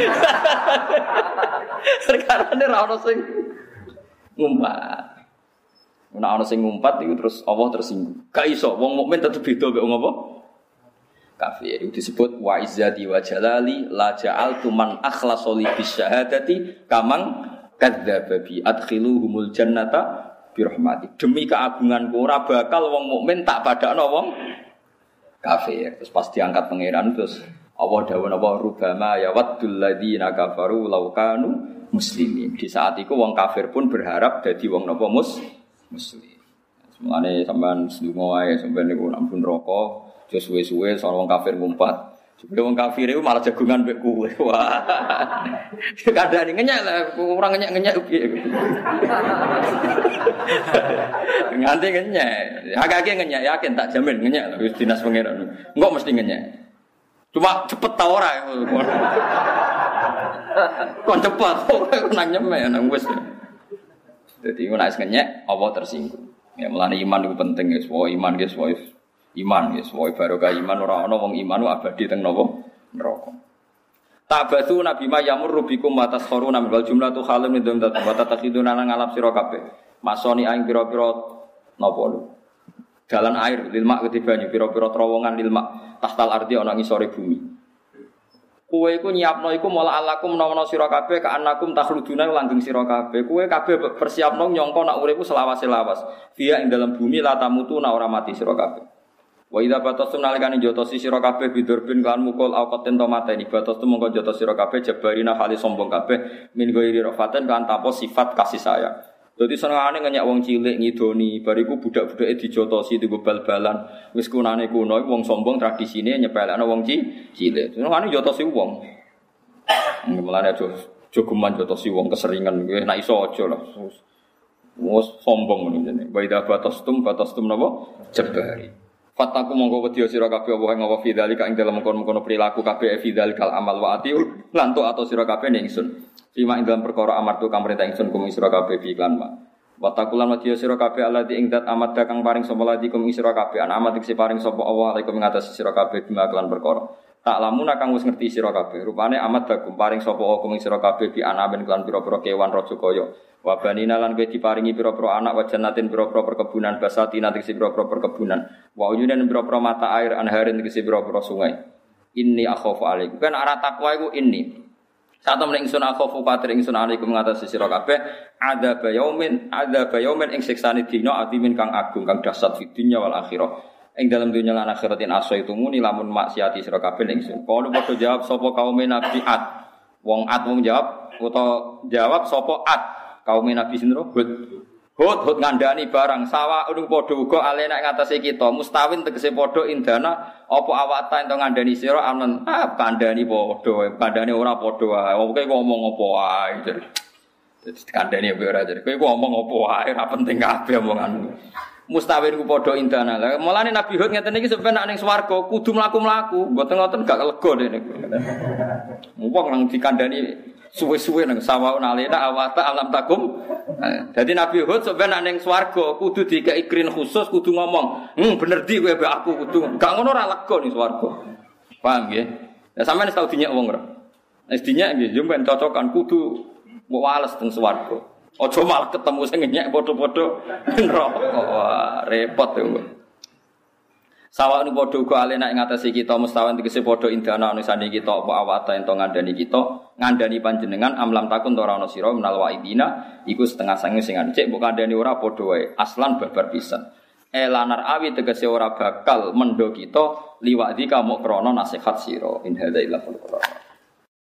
Sekarane ora ana sing ngumpat. Nek ana sing ngumpat iku terus Allah tersinggung. Gak iso wong mukmin tetep beda mek wong apa? Kafir. Itu disebut wa izzati wa jalali la ja'altu man akhlasa li bisyahadati kamang kadzdzaba bi adkhiluhumul jannata bi rahmati. Demi keagunganku ora bakal wong mukmin tak padakno wong kafir. Terus pas diangkat pangeran terus Allah dawuh napa rubama ya waddul ladzina kafaru law kanu muslimin. Di saat itu wong kafir pun berharap dadi wong napa muslim. Semane sampean sedonga wae sampean niku ampun neraka, aja suwe-suwe soal wong kafir ngumpat. Jebule wong kafir iku malah jagungan mbek kowe. Wah. Kadane ngenyek lah, ora ngenyek-ngenyek piye. Nganti ngenyek. Agak-agak ngenyek yakin tak jamin ngenyek wis dinas pangeran. Engko mesti ngenyek. Cuma cepet ta ora. Kon cepet ora nang nyemek nang wis. Dadi nek wis ngenyek apa tersinggung. Ya mulane iman itu penting ya, semua iman ya, semua iman ya, semua barokah iman ora ana wong iman abadi teng napa neraka. Tabatsu nabi ma yamurru bikum wa taskhuruna wal jumlatu khalam min dzat wa tatakhiduna nang ngalap sira kabeh. Masoni aing pira-pira napa lho. Dalan air lil mak ketibanyu pira-pira terowongan lil mak tahtal ardi ana ngisore bumi. Kowe iku nyiapno iku mola alakum menawa sira kabeh ka anakum takhluduna langgeng sira kabeh. Kowe kabeh persiapno nyangka nak uripku selawas-selawas. Via ing dalam bumi la tamutuna ora mati sira kabeh. Wa idza batastum nalikane jotosi sira kabeh bidurbin kan mukul awqaten to mateni batastum mongko jotos sira kabeh jabarina khali sombong kabeh min ghairi rafaten kan tanpa sifat kasih sayang. Dadi senengane ngenyek wong cilik ngidoni bariku budak-budake dijotosi digo bal-balan wis kunane kuno wong sombong tradisine nyepelekno wong cilik. Senengane jotosi wong. Mulane aja jogeman jotosi wong keseringan kowe nek iso aja lah. Wes sombong ngene. Wa idza batastum napa jabari. Fataku monggo wedi sira kabeh apa ing apa fidzalika ing dalem kono-kono perilaku kabeh fidzalikal amal wa atiu lan to atau sira kabeh ning ingsun. Sima ing dalam perkara amartu kang perintah ingsun kum sira kabeh bi iklan ma. Watakulan wedi sira kabeh alati ing dat amat kang paring sapa lati kum sira kabeh an amat sing paring sapa Allah alaikum ing atas sira kabeh bima iklan perkara. Tak lamun kang wis ngerti sira kabeh rupane amat kum paring sapa Allah kum sira kabeh bi anaben iklan pira-pira kewan raja kaya. Wa banina lan kowe diparingi pira-pira anak wa jannatin pira-pira perkebunan basatina tegese pira-pira perkebunan. Wa uyunan pira-pira mata air anharin tegese pira-pira sungai. Inni akhafu alaikum. Kan arah takwa iku inni. Saat temen ingsun akhafu patir ingsun alaikum ngatasi sira kabeh ada bayaumin ing siksane dina atimin kang agung kang dahsyat fi dunya wal akhirah. Ing dalam dunya lan akhiratin asaitumuni lamun maksiati sira kabeh ingsun. Kalau padha jawab sapa kaum Nabi Ad. Wong Ad wong jawab utawa jawab sapa Ad. Kaum Nabi sinten Hud ngandani barang sawa udung padha uga alena ing atase kita mustawin tegese padha indana apa awata ento ngandani sira amen kandhani padha kandhane ora padha wae kowe ngomong apa wae dadi kandhani ora jare kowe ngomong apa wae ora penting kabeh omonganmu mustawin ku padha indana lha mulane Nabi Hud ngeten iki sampeyan nek ning swarga kudu mlaku-mlaku mboten ngoten gak lega dene wong nang dikandhani suwe-suwe nang sawaun alena awata alam takum. Dadi Nabi Hud sampeyan ning swarga kudu dikeki krin khusus kudu ngomong, bener di kowe mbek aku kudu. Gak ngono ora lega ning swarga. Paham nggih? Ya sampeyan wis tau dinyek wong ora? Wis dinyek nggih, yo ben cocokan kudu mbok wales teng swarga. Aja malah ketemu sing nyek padha-padha neraka. Wah, repot yo. Sawa nu padha uga alena ing atase kita mustawan tegese padha indana anisane kita apa awata ento ngandani kita ngandani panjenengan amlam takun ora ana sira menal waidina iku setengah sange sing cek mbok kandhani ora padha wae aslan babar pisan elanar awi tegese ora bakal mendo kita liwadi kamuk krana nasihat sira in hadza illa